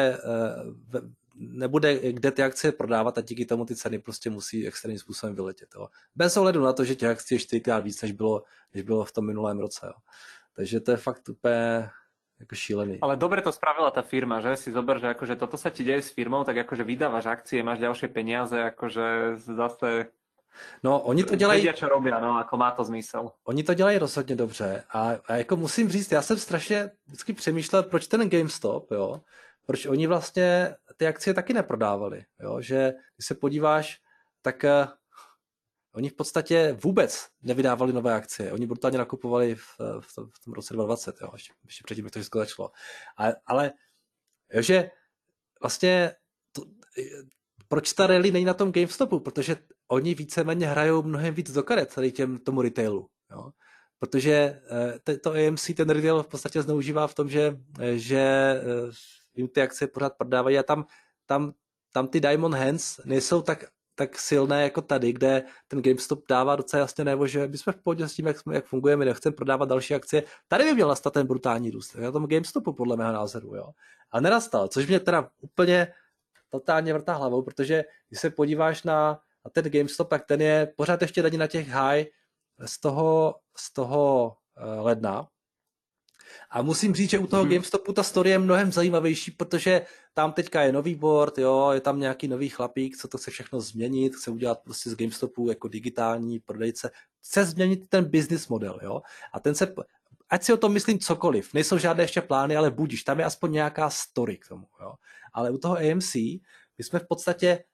nebude kde ty akcie prodávat a díky tomu ty ceny prostě musí extrémním způsobem vyletět. Jo. Bez ohledu na to, že těch akcí je 4krát víc, než bylo v tom minulém roce. Jo. Takže to je fakt úplně jako šílený. Ale dobre to spravila tá firma, že? Si zober, že akože toto sa ti deje s firmou, tak akože vydávaš akcie, máš ďalšie peniaze, akože zase No, oni to dělají... vedia, čo robia, no, ako má to zmysel. Oni to dělají rozhodně dobře a jako musím říct, já jsem strašně vždycky přemýšlel, proč ten GameStop, jo, proč oni vlastně ty akcie taky neprodávali, jo, že když se podíváš, tak oni v podstatě vůbec nevydávali nové akcie, oni brutálně nakupovali v tom roce 2020, jo, ještě předtím, jak to všechno začalo. Ale jo, že vlastně proč ta rally není na tom GameStopu, protože oni víceméně hrajou mnohem víc do karet tady tomu retailu, jo. Protože to AMC ten retail v podstatě zneužívá v tom, že jim ty akcie pořád prodávají a tam ty Diamond Hands nejsou tak silné jako tady, kde ten GameStop dává docela jasně najevo, že my jsme v pohodě s tím, jak fungujeme, nechceme prodávat další akcie. Tady by měl nastat ten brutální růst, na tom GameStopu podle mého názoru, jo. A nenastal, což mě teda úplně totálně vrtá hlavou, protože když se podíváš na ten GameStop, tak ten je pořád ještě tady na těch high z toho ledna. A musím říct, že u toho GameStopu ta story je mnohem zajímavější, protože tam teďka je nový board, jo, je tam nějaký nový chlapík, co to chce všechno změnit, chce udělat prostě z GameStopu jako digitální prodejce, chce změnit ten business model, jo. A ten se, ať si o tom myslím cokoliv, nejsou žádné ještě plány, ale budíš, tam je aspoň nějaká story k tomu, jo. Ale u toho AMC, my jsme v podstatě,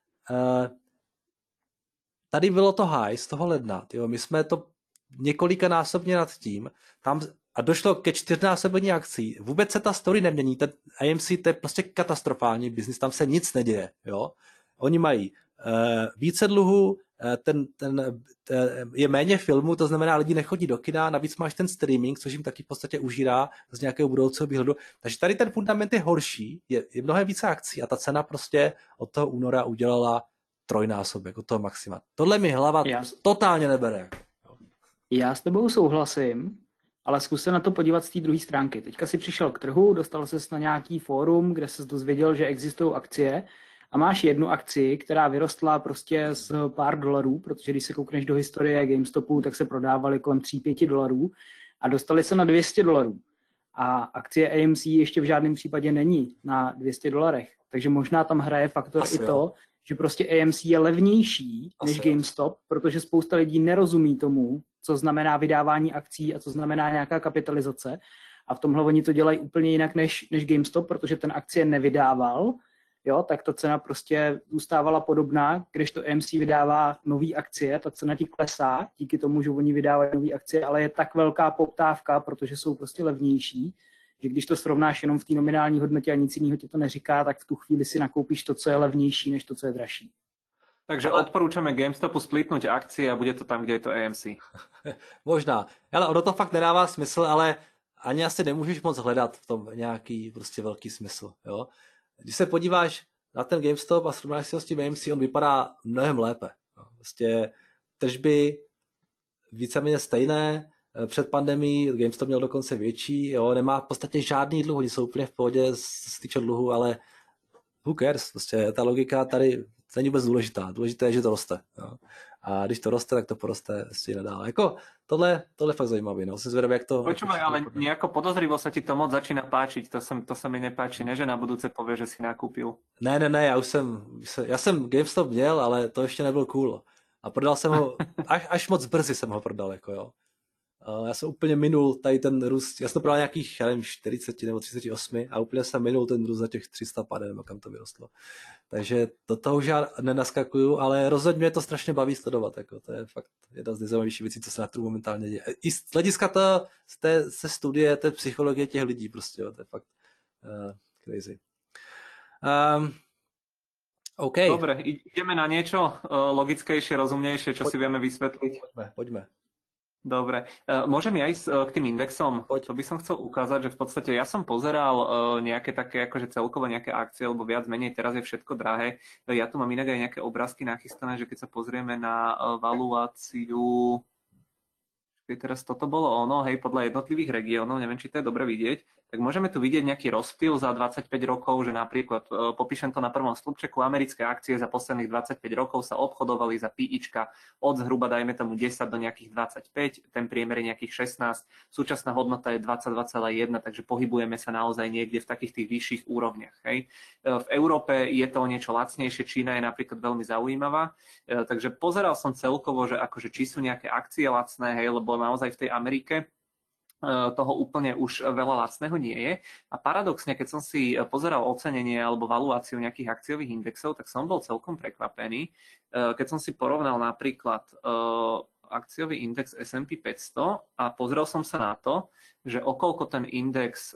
tady bylo to high z toho ledna, jo, my jsme to několikanásobně nad tím, tam a došlo ke 4násobení akcí. Vůbec se ta story nemění. Ten AMC to je prostě katastrofální biznis, tam se nic neděje. Jo? Oni mají více dluhů, je méně filmů, to znamená, lidi nechodí do kina, navíc máš ten streaming, což jim taky v podstatě užírá z nějakého budoucího výhledu. Takže tady ten fundament je horší, je mnohem více akcí a ta cena prostě od toho února udělala trojnásobek, od toho maxima. Tohle mi hlava totálně nebere. Já s tebou souhlasím, ale zkus se na to podívat z té druhé stránky. Teďka si přišel k trhu, dostal ses na nějaký fórum, kde ses dozvěděl, že existují akcie a máš jednu akci, která vyrostla prostě z pár dolarů, protože když se koukneš do historie GameStopu, tak se prodávaly kolem 3-5 dolarů a dostali se na $200. A akcie AMC ještě v žádném případě není na $200. Takže možná tam hraje faktor Asi i to, že prostě AMC je levnější než GameStop, protože spousta lidí nerozumí tomu, co znamená vydávání akcí a co znamená nějaká kapitalizace. A v tomhle oni to dělají úplně jinak než GameStop, protože ten akcie nevydával, jo, tak ta cena prostě zůstávala podobná, když to AMC vydává nový akcie, ta cena ti klesá, díky tomu, že oni vydávají nový akcie, ale je tak velká poptávka, protože jsou prostě levnější, že když to srovnáš jenom v té nominální hodnotě a nic jiného ti to neříká, tak v tu chvíli si nakoupíš to, co je levnější, než to, co je dražší. Takže odporúčame GameStopu splitnúť akcie a bude to tam, kde je to AMC. Možná. Ale ono to fakt nedává smysl, ale ani asi nemůžeš moc hledat v tom nějaký prostě velký smysl. Jo? Když se podíváš na ten GameStop a srovnáš si ho s tím AMC, on vypadá mnohem lépe. Prostě tržby víceméně stejné, před pandemií GameStop měl dokonce větší, jo? Nemá v podstatě žádný dluh, oni jsou úplně v pohodě z týče dluhu, ale who cares? Prostě ta logika tady není vůbec důležitá. Důležité je, že to roste. Jo? A když to roste, tak to poroste ještě nadále. Jako tohle je fakt zajímavé. No. Jsem zvedavý, jak to... Počúvaj, ale nejako podozrivo sa ti to moc začína páčiť. To sa mi nepáči, ne? Že na budúce povie, že si nakúpil. Ne, já jsem GameStop měl, ale to ještě nebyl cool. A prodal jsem ho, až moc brzy jsem ho prodal, jako jo. Já jsem úplně minul tady ten růst, já jsem to prodal nějakých, já nevím, 40 nebo 38 a úplně jsem minul ten růst za těch 300 nebo kam to vyrostlo. Takže do toho už já nenaskakuju, ale rozhodně mě to strašně baví sledovat, jako to je fakt jedna z nejzajímavějších věcí, co se na trhu momentálně děje. I z hlediska se studie, té psychologie těch lidí prostě, jo, to je fakt crazy. OK. Dobre, ideme na niečo logickejšie, rozumnejšie, čo si vieme vysvetliť. Poďme. Dobre, môžem ja ísť k tým indexom? To by som chcel ukázať, že v podstate ja som pozeral nejaké také, akože celkovo nejaké akcie, lebo viac menej teraz je všetko drahé. Ja tu mám inak aj nejaké obrázky nachystané, že keď sa pozrieme na valuáciu, teraz toto bolo ono, hej, podľa jednotlivých regiónov, neviem, či to je dobre vidieť, tak môžeme tu vidieť nejaký rozptyl za 25 rokov, že napríklad, popíšem to na prvom stĺpčeku, americké akcie za posledných 25 rokov sa obchodovali za PIčka od zhruba, dajme tomu 10 do nejakých 25, ten priemer je nejakých 16, súčasná hodnota je 22,1, takže pohybujeme sa naozaj niekde v takých tých vyšších úrovniach. Hej. V Európe je to niečo lacnejšie, Čína je napríklad veľmi zaujímavá, takže pozeral som celkovo, že akože či sú nejaké akcie lacné, hej, lebo naozaj v tej Amerike toho úplne už veľa lacného nie je. A paradoxne, keď som si pozeral ocenenie alebo valuáciu nejakých akciových indexov, tak som bol celkom prekvapený. Keď som si porovnal napríklad akciový index S&P 500 a pozrel som sa na to, že okolko ten index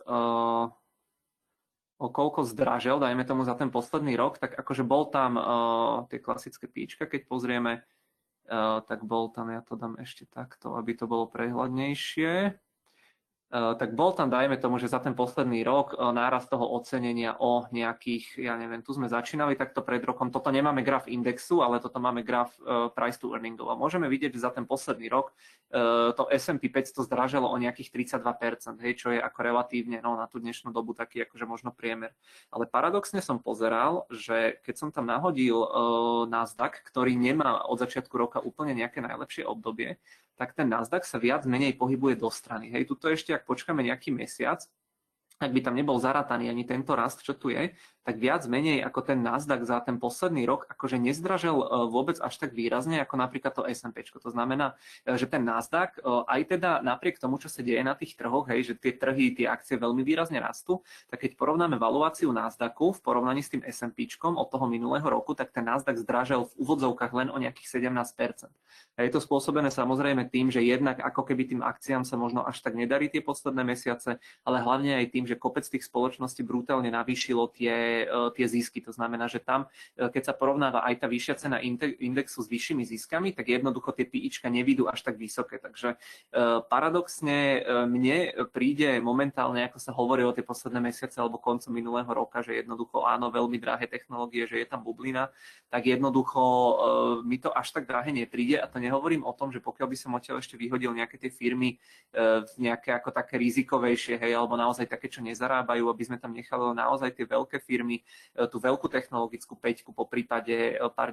okolko zdražel, dajme tomu za ten posledný rok, tak akože bol tam tie klasické píčka, keď pozrieme, tak bol tam, ja to dám ešte takto, aby to bolo prehľadnejšie. Tak bol tam, dajme tomu, že za ten posledný rok nárast toho ocenenia o nejakých, ja neviem, tu sme začínali takto pred rokom, toto nemáme graf indexu, ale toto máme graf price to earningov. A môžeme vidieť, že za ten posledný rok to S&P 500 zdraželo o nejakých 32%, hej, čo je ako relatívne na tú dnešnú dobu taký akože možno priemer. Ale paradoxne som pozeral, že keď som tam nahodil Nasdaq, ktorý nemá od začiatku roka úplne nejaké najlepšie obdobie, tak ten Nasdaq sa viac menej pohybuje do strany. Hej, tuto ešte, ak počkáme nejaký mesiac, ak by tam nebol zarataný ani tento rast, čo tu je, tak viac menej ako ten Nasdaq za ten posledný rok akože nezdražel vôbec až tak výrazne ako napríklad to S&P. To znamená, že ten Nasdaq aj teda napriek tomu, čo sa deje na tých trhoch, hej, že tie trhy, tie akcie veľmi výrazne rastú, tak keď porovnáme valuáciu Nasdaqu v porovnaní s tým S&Pčkom od toho minulého roku, tak ten Nasdaq zdražel v úvodzovkách len o nejakých 17%. A je to spôsobené samozrejme tým, že jednak ako keby tým akciám sa možno až tak nedarí tie posledné mesiace, ale hlavne aj tým, že kopec tých spoločností brutálne navýšilo tie zisky. To znamená, že tam, keď sa porovnáva aj tá vyššia cena indexu s vyššími ziskami, tak jednoducho tie PIčka nevidú až tak vysoké. Takže paradoxne mne príde momentálne, ako sa hovorí o tie posledné mesiace alebo koncom minulého roka, že jednoducho áno, veľmi drahé technológie, že je tam bublina, tak jednoducho mi to až tak drahé nepríde a to nehovorím o tom, že pokiaľ by som odtiaľ ešte vyhodil nejaké tie firmy nejaké ako také rizikovejšie, hej, alebo naozaj také, čo nezarábajú, aby sme tam nechali naozaj tie veľké firmy, tú veľkú technologickú päťku, po prípade pár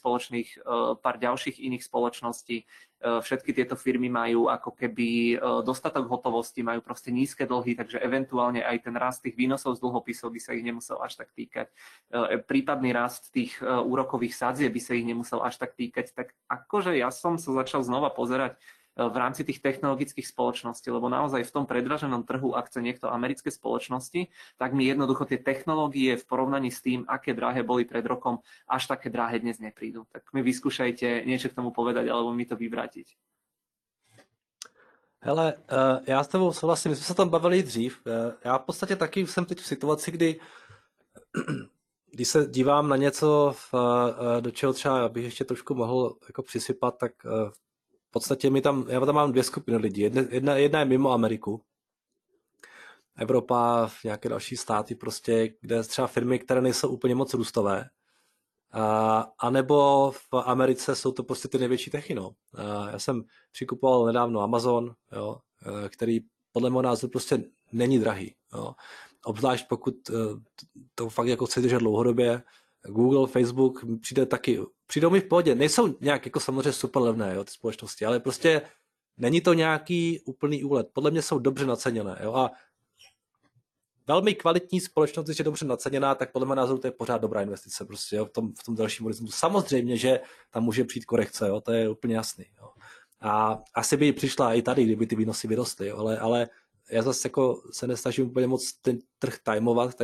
ďalších iných spoločností. Všetky tieto firmy majú ako keby dostatok hotovosti, majú proste nízke dlhy, takže eventuálne aj ten rast tých výnosov z dlhopisov by sa ich nemusel až tak týkať. Prípadný rast tých úrokových sadzieb by sa ich nemusel až tak týkať. Tak akože ja som sa začal znova pozerať v rámci tých technologických spoločností, lebo naozaj v tom predraženom trhu, ak chce niekto americké spoločnosti, tak mi jednoducho tie technológie v porovnaní s tým, aké drahé boli pred rokom, až také drahé dnes neprídu. Tak mi vyskúšajte niečo k tomu povedať, alebo mi to vyvrátiť. Hele, já s tebou souhlasím, my jsme se tam bavili dřív. Já v podstatě taky jsem teď v situaci, kdy když se dívám na něco, do čeho třeba bych ještě trošku mohl jako přisypat, tak v podstatě já tam mám dvě skupiny lidí. Jedna je mimo Ameriku. Evropa, nějaké další státy prostě, kde třeba firmy, které nejsou úplně moc růstové. A nebo v Americe jsou to prostě ty největší techy. No. Já jsem přikupoval nedávno Amazon, jo, který podle mého názoru prostě není drahý. Jo. Obzvlášť pokud to fakt jako chci držet dlouhodobě. Google, Facebook přijdou mi v pohodě. Nejsou nějak jako samozřejmě super levné, jo, ty společnosti, ale prostě není to nějaký úplný úlet. Podle mě jsou dobře naceněné. Jo, a velmi kvalitní společnost, když je dobře naceněná, tak podle mého názoru to je pořád dobrá investice prostě, jo, v tom dalším horizontu. Samozřejmě, že tam může přijít korekce, jo, to je úplně jasný. Jo. A asi by přišla i tady, kdyby ty výnosy vyrostly, jo, ale já zase jako se nesnažím úplně moc ten trh timovat,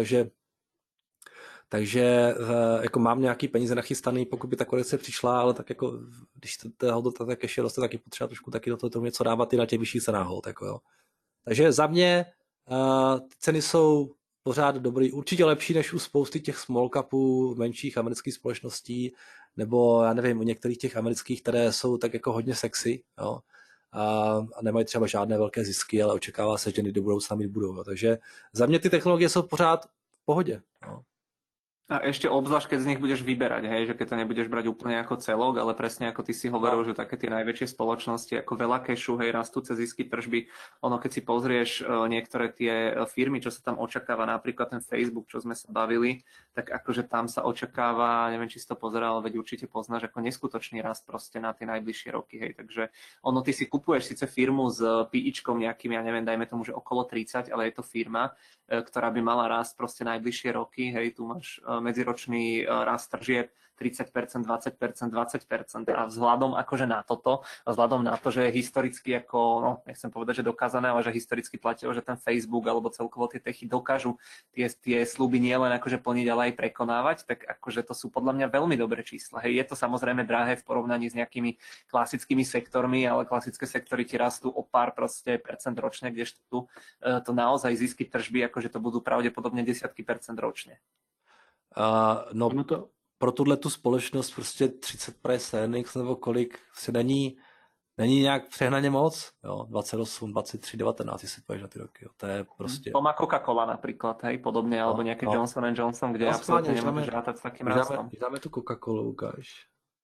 takže jako mám nějaký peníze nachystaný, pokud by ta korekce přišla, ale tak jako když ta hodnota tak ještě roste, tak je potřeba trošku taky do toho něco dávat i na těch vyšších cenách. Tak jo. Takže za mě ty ceny jsou pořád dobrý, určitě lepší než u spousty těch small capů, menších amerických společností, nebo já nevím, u některých těch amerických, které jsou tak jako hodně sexy, jo. A nemají třeba žádné velké zisky, ale očekává se, že do budoucna mít budou. Jo. Takže za mě ty technologie jsou pořád v pohodě. Jo. A ešte obzvlášť, keď z nich budeš vyberať, hej, že keď to nebudeš brať úplne ako celok, ale presne ako ty si hovoril, že také tie najväčšie spoločnosti, ako veľa kešu, hej, rastúce zisky, tržby, ono keď si pozrieš niektoré tie firmy, čo sa tam očakáva, napríklad ten Facebook, čo sme sa bavili, tak akože tam sa očakáva, neviem, či si to pozeral, veď určite poznáš, ako neskutočný rast proste na tie najbližšie roky, hej, takže ono ty si kupuješ síce firmu s PIčkom nejakým, ja neviem, dajme tomu, že okolo 30, ale je to firma, ktorá by mala rásť proste najbližšie roky, hej, tu máš medziročný rast tržieb 30%, 20%, 20% a vzhľadom akože na toto, a vzhľadom na to, že historicky ako, no nechcem povedať, že dokázané, ale že historicky platilo, že ten Facebook alebo celkovo tie techy dokážu tie sľuby nielen akože plniť, ale aj prekonávať, tak akože to sú podľa mňa veľmi dobré čísla. Hej, je to samozrejme drahé v porovnaní s nejakými klasickými sektormi, ale klasické sektory ti rastú o pár proste percent ročne, kdežto tu to naozaj zisky tržby, akože to budú pravdepodobne desiatky percent ročne. No to pro tuhle tu společnost prostě 30 price earnings nebo kolik se není nějak přehnaně moc, jo, 28, 23, 19, jestli půjdeš na ty roky, jo, to je prostě... To má Coca-Cola například, hej, podobně, alebo nějaký Johnson & Johnson, kde absolutně nemůžeš rátať s takým rastom. Dáme tu Coca-Colu, ukáž.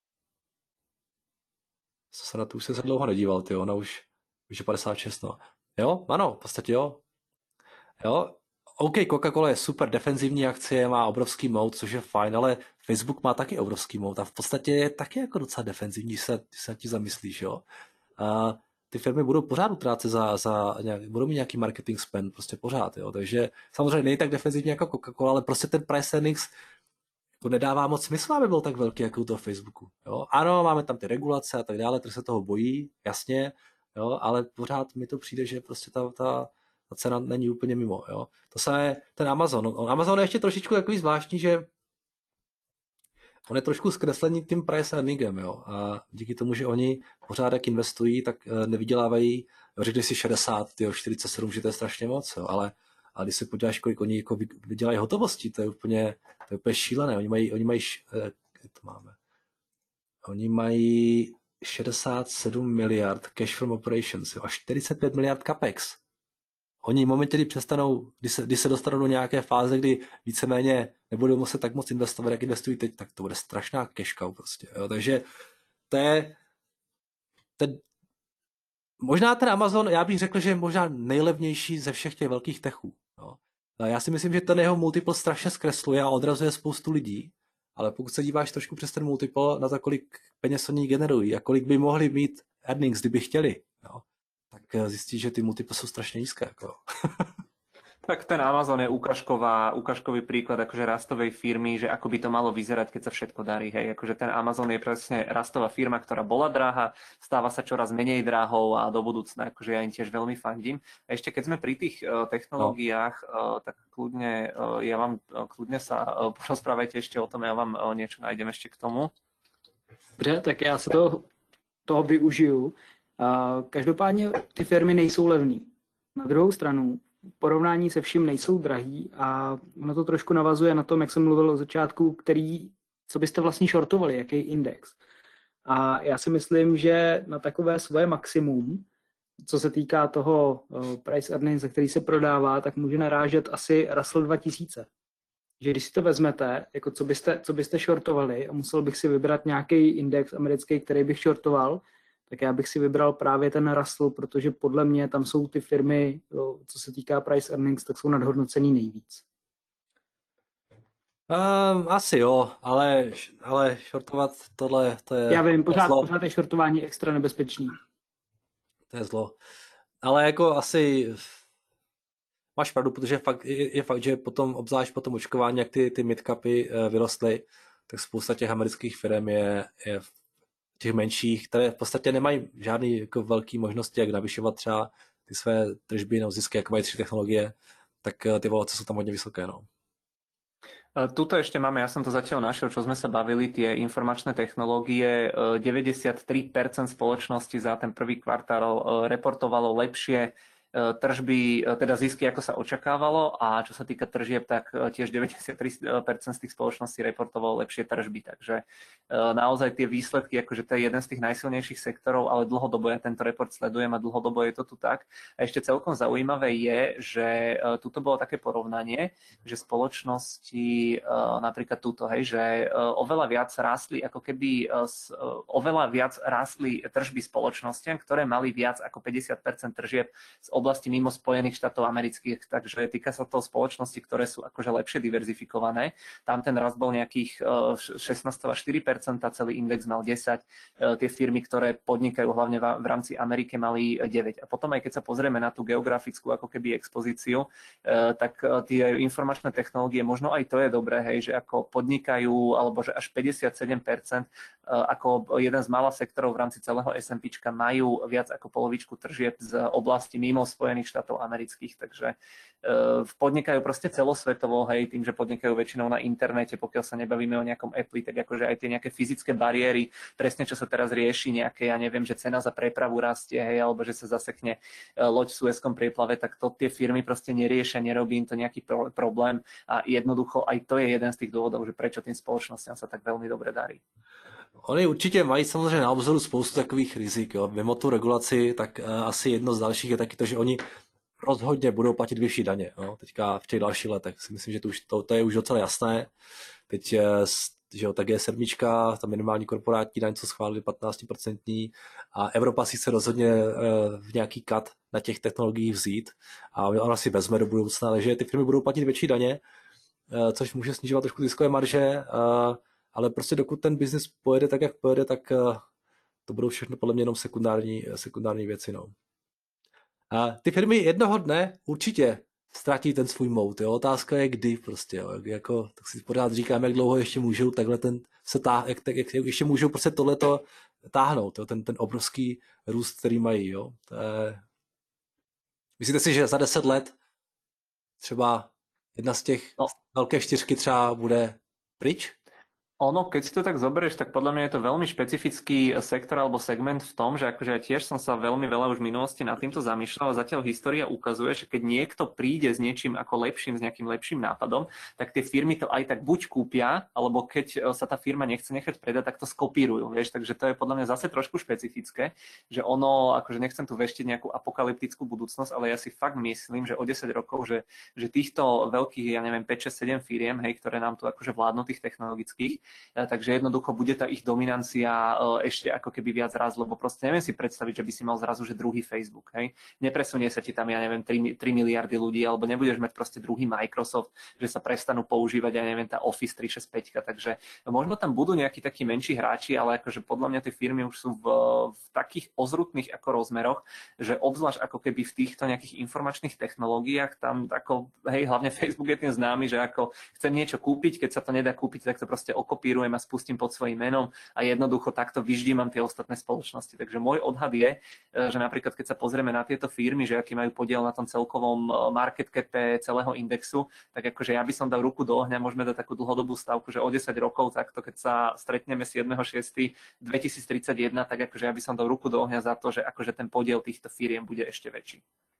Co se na to už se dlouho nedíval, ty, ona už je 56, no. Jo, ano, v podstatě jo. Jo, OK, Coca-Cola je super defenzivní akcie, má obrovský moat, což je fajn, ale Facebook má taky obrovský moat a v podstatě je taky jako docela defenzivní, když se ti zamyslíš, jo. A ty firmy budou pořád utrácet budou mít nějaký marketing spend, prostě pořád, jo. Takže samozřejmě není tak defenzivní jako Coca-Cola, ale prostě ten price earnings to nedává moc smysl, aby byl tak velký jako u toho Facebooku, jo. Ano, máme tam ty regulace a tak dále, trh se toho bojí, jasně, jo, ale pořád mi to přijde, že prostě ta cena není úplně mimo, jo. To samé ten Amazon. Amazon je ještě trošičku takový zvláštní, že on je trošku zkreslený tím price earningem, jo. A díky tomu, že oni pořád jak investují, tak nevydělávají, řekli si 60, 47, že to je strašně moc, jo. Ale když se podíváš, kolik oni jako vydělají hotovosti, to je úplně šílené. Oni mají 67 miliard cash from operations, jo, a 45 miliard capex. Oni momentě, kdy přestanou, když se dostanou do nějaké fáze, kdy víceméně nebudou muset tak moc investovat, jak investují teď, tak to bude strašná cash cow prostě. Jo. Takže to je možná ten Amazon, já bych řekl, že je možná nejlevnější ze všech těch velkých techů. Jo. Já si myslím, že ten jeho multiple strašně zkresluje a odrazuje spoustu lidí, ale pokud se díváš trošku přes ten multiple na to, kolik peněz oni generují a kolik by mohli mít earnings, kdyby chtěli, jo, tak zjistíš, že ty multiply sú strašne nízke. Ako. Tak ten Amazon je ukážkový príklad akože rastovej firmy, že ako by to malo vyzerať, keď sa všetko darí. Hej. Akože ten Amazon je presne rastová firma, ktorá bola drahá, stáva sa čoraz menej drahou a do budúcna akože ja im tiež veľmi fandím. A ešte keď sme pri tých technológiách, tak kľudne sa porozprávajte ešte o tom, ja vám niečo nájdem ešte k tomu. Dobře, tak já se toho využiju. Každopádně ty firmy nejsou levný. Na druhou stranu, v porovnání se vším nejsou drahý a ono to trošku navazuje na tom, jak jsem mluvil o začátku, co byste vlastně shortovali, jaký index. A já si myslím, že na takové svoje maximum, co se týká toho price earnings, za který se prodává, tak může narážet asi Russell 2000. Že když si to vezmete, jako co byste shortovali a musel bych si vybrat nějaký index americký, který bych shortoval, tak já bych si vybral právě ten Russell, protože podle mě tam jsou ty firmy, co se týká price earnings, tak jsou nadhodnocený nejvíc. Asi jo, ale shortovat tohle, to je... Já vím, pořád je shortování extra nebezpečný. To je zlo. Ale jako asi máš pravdu, protože je fakt, že potom, obzvlášť po tom očkování, jak ty midcapy vyrostly, tak spousta těch amerických firm je těch menších, které v podstatě nemají žádný jako velký možnosti, jak navyšovat třeba ty své tržby nebo zisky, jako mají 3 technologie, tak ty valuace jsou tam hodně vysoké. No. Tuto ešte máme, ja som to zatiaľ našiel, čo sme sa bavili, tie informačné technológie, 93% spoločnosti za ten prvý kvartál reportovalo lepšie tržby, teda zisky, ako sa očakávalo, a čo sa týka tržieb, tak tiež 93% z tých spoločností reportovalo lepšie tržby, takže naozaj tie výsledky, akože to je jeden z tých najsilnejších sektorov, ale dlhodobo ja tento report sledujem a dlhodobo je to tu tak. A ešte celkom zaujímavé je, že tuto bolo také porovnanie, že spoločnosti, napríklad túto, hej, že oveľa viac rástli, ako keby oveľa viac rástli tržby spoločnostiam, ktoré mali viac ako 50% tržieb z oblasti mimo Spojených štátov amerických, takže týka sa to spoločnosti, ktoré sú akože lepšie diverzifikované. Tam ten rast bol nejakých 16,4%, celý index mal 10, tie firmy, ktoré podnikajú hlavne v rámci Ameriky, mali 9. A potom aj keď sa pozrieme na tú geografickú ako keby expozíciu, tak tie informačné technológie, možno aj to je dobré, hej, že ako podnikajú, alebo že až 57% ako jeden z mála sektorov v rámci celého S&Pčka majú viac ako polovičku tržieb z oblasti mimo Spojených štátov amerických, takže podnikajú proste celosvetovo, hej, tým, že podnikajú väčšinou na internete, pokiaľ sa nebavíme o nejakom Apple, tak akože aj tie nejaké fyzické bariéry, presne čo sa teraz rieši, nejaké, ja neviem, že cena za prepravu rastie, hej, alebo že sa zasekne loď v Suezskom prieplave, tak to tie firmy proste neriešia, nerobí im to nejaký problém a jednoducho aj to je jeden z tých dôvodov, že prečo tým spoločnostiam sa tak veľmi dobre darí. Oni určitě mají samozřejmě na obzoru spoustu takových rizik. Jo. Mimo tu regulaci, tak asi jedno z dalších je taky to, že oni rozhodně budou platit vyšší daně. Jo. Teďka v těch dalších letech si myslím, že to je už docela jasné. Teď že jo, ta G7, ta minimální korporátní daň, co schválili 15% a Evropa si chce rozhodně v nějaký cut na těch technologiích vzít a ona si vezme do budoucna, takže ty firmy budou platit větší daně, což může snižovat trošku ziskové marže, ale prostě dokud ten biznis pojede tak, jak pojede, tak to budou všechno podle mě jenom sekundární věci. No. A ty firmy jednoho dne určitě ztratí ten svůj mout. Jo. Otázka je kdy prostě. Jo. Jako, tak si pořád říkám, jak dlouho ještě můžou takhle jak ještě můžou prostě tohleto táhnout. Jo. Ten obrovský růst, který mají. Jo. Myslíte si, že za 10 let třeba jedna z těch velké čtyřky třeba bude pryč? Ono, keď si to tak zoberieš, tak podľa mňa je to veľmi špecifický sektor alebo segment v tom, že akože ja tiež som sa veľmi veľa už v minulosti nad týmto zamýšľal a zatiaľ história ukazuje, že keď niekto príde s niečím ako lepším, s nejakým lepším nápadom, tak tie firmy to aj tak buď kúpia, alebo keď sa tá firma nechce nechať predať, tak to skopírujú, vieš, takže to je podľa mňa zase trošku špecifické, že ono, akože nechcem tu veštiť nejakú apokalyptickú budúcnosť, ale ja si fakt myslím, že o 10 rokov, že týchto veľkých, ja neviem, 5, 6, 7 firiem, hej, ktoré nám tu akože vládnu tých technologických, takže jednoducho bude tá ich dominancia ešte ako keby viac raz, lebo proste neviem si predstaviť, že by si mal zrazu, že druhý Facebook, hej. Nepresunie sa ti tam, ja neviem, 3 miliardy ľudí, alebo nebudeš mať proste druhý Microsoft, že sa prestanú používať, ja neviem, tá Office 365, takže možno tam budú nejakí takí menší hráči, ale akože podľa mňa tie firmy už sú v takých ozrutných ako rozmeroch, že obzvlášť ako keby v týchto nejakých informačných technológiách, tam ako, hej, hlavne Facebook je tým známy, že ako chcem niečo kúpiť, keď sa to nedá kúpiť, tak to proste kopírujem a spustím pod svojím menom a jednoducho takto vyždímam tie ostatné spoločnosti. Takže môj odhad je, že napríklad keď sa pozrieme na tieto firmy, že aký majú podiel na tom celkovom market cape celého indexu, tak akože ja by som dal ruku do ohňa, môžeme dať takú dlhodobú stavku, že o 10 rokov takto, keď sa stretneme 7.6.2031, tak akože ja by som dal ruku do ohňa za to, že akože ten podiel týchto firiem bude ešte väčší.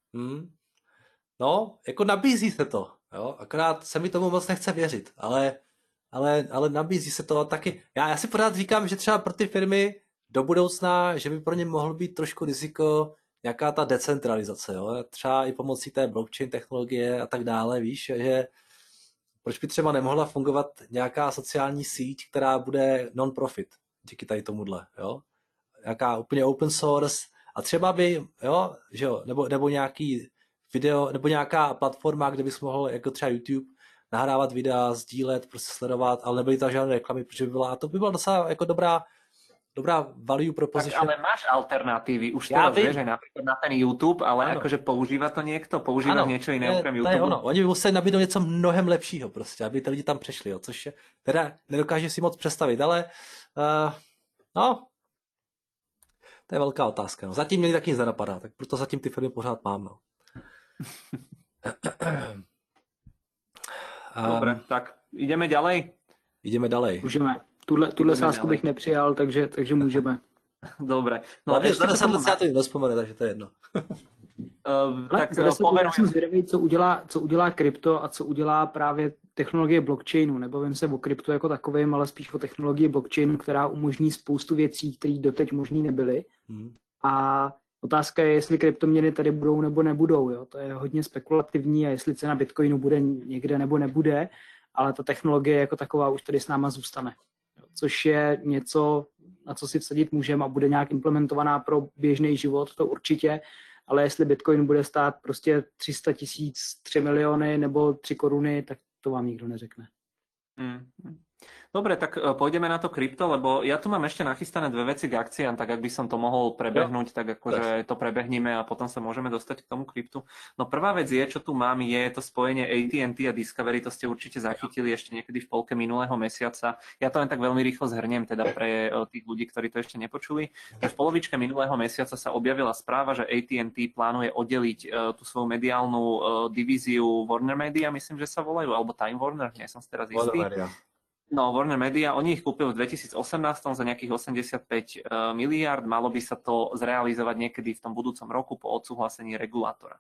No, jako nabízí se to, jo? Akorát se mi tomu moc nechce věřit, ale nabízí se to taky. Já si pořád říkám, že třeba pro ty firmy do budoucna, že by pro ně mohl být trošku riziko nějaká ta decentralizace, jo? Třeba i pomocí té blockchain technologie a tak dále, víš, že proč by třeba nemohla fungovat nějaká sociální síť, která bude non-profit díky tady tomuhle, jo? Nějaká úplně open source a třeba by, jo, že jo, nebo nějaký video, nebo nějaká platforma, kde bys mohl, jako třeba YouTube, nahrávat videa, sdílet, prostě sledovat, ale nebyly tam žádné reklamy, protože by byla, a to by byla docela jako dobrá value proposition. Tak ale máš alternatívy, už teraz vieš aj napríklad na ten YouTube, ale ano. Akože používa to niekto, používa niečo iné okrem YouTube. To je ono, oni by museli nabídnout něco mnohem lepšího prostě, aby ty lidi tam přešli, jo, což je, teda nedokáže si moc představit, ale no, to je velká otázka. No. Zatím mě taky nic nenapadá, tak proto zatím ty firmy pořád mám. No. Dobre, tak ideme ďalej? Ideme ďalej. Můžeme. Tuhle sázku bych nepřijal, takže můžeme. Dobre. No a za 10 let se na to nespomene, takže to je jedno. Tak já poverujem. jsem zvědavý, co udělá krypto a co udělá právě technologie blockchainu. Nebavím se o kryptu jako takovém, ale spíš o technologii blockchainu, která umožní spoustu věcí, které doteď možný nebyly. A otázka je, jestli kryptoměny tady budou nebo nebudou. Jo? To je hodně spekulativní a jestli cena Bitcoinu bude někde nebo nebude, ale ta technologie jako taková už tady s náma zůstane. Což je něco, na co si vsadit můžeme a bude nějak implementovaná pro běžný život, to určitě, ale jestli Bitcoin bude stát prostě 300 000, 3 miliony nebo 3 koruny, tak to vám nikdo neřekne. Dobre, tak pôjdeme na to krypto, lebo ja tu mám ešte nachystané dve veci k akciám, tak ak by som to mohol prebehnúť, tak akože to prebehníme a potom sa môžeme dostať k tomu kryptu. No prvá vec je, čo tu mám, je to spojenie AT&T a Discovery, to ste určite zachytili ešte niekedy v polke minulého mesiaca. Ja to len tak veľmi rýchlo zhrniem teda pre tých ľudí, ktorí to ešte nepočuli. V polovičke minulého mesiaca sa objavila správa, že AT&T plánuje oddeliť tú svoju mediálnu divíziu Warner Media, myslím, že sa volajú, alebo Time Warner, nie som si teraz istý. No, Warner Media, oni ich kúpili v 2018 za nejakých 85 miliárd, malo by sa to zrealizovať niekedy v tom budúcom roku po odsúhlasení regulátora.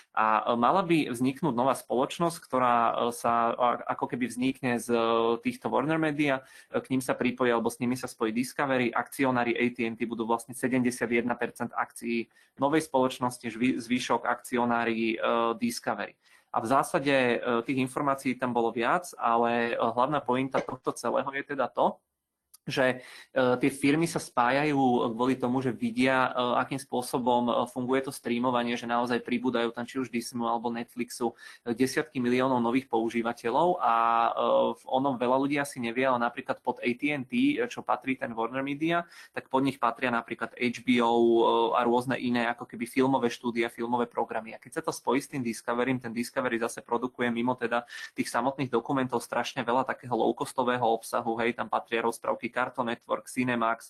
A mala by vzniknúť nová spoločnosť, ktorá sa ako keby vznikne z týchto Warner Media, k ním sa pripojí alebo s nimi sa spojí Discovery, akcionári AT&T budú vlastne 71% akcií novej spoločnosti, zvyšok akcionári Discovery. A v zásade tých informácií tam bolo viac, ale hlavná pointa tohto celého je teda to, že tie firmy sa spájajú kvôli tomu, že vidia, akým spôsobom funguje to streamovanie, že naozaj pribúdajú tam či už Disneyu alebo Netflixu desiatky miliónov nových používateľov a ono veľa ľudí asi nevie, ale napríklad pod AT&T, čo patrí ten Warner Media, tak pod nich patria napríklad HBO a rôzne iné ako keby filmové štúdia, filmové programy. A keď sa to spojí s tým Discoverym, ten Discovery zase produkuje mimo teda tých samotných dokumentov strašne veľa takého low-costového obsahu, hej, tam patria rozprávky Cartoon Network, Cinemax,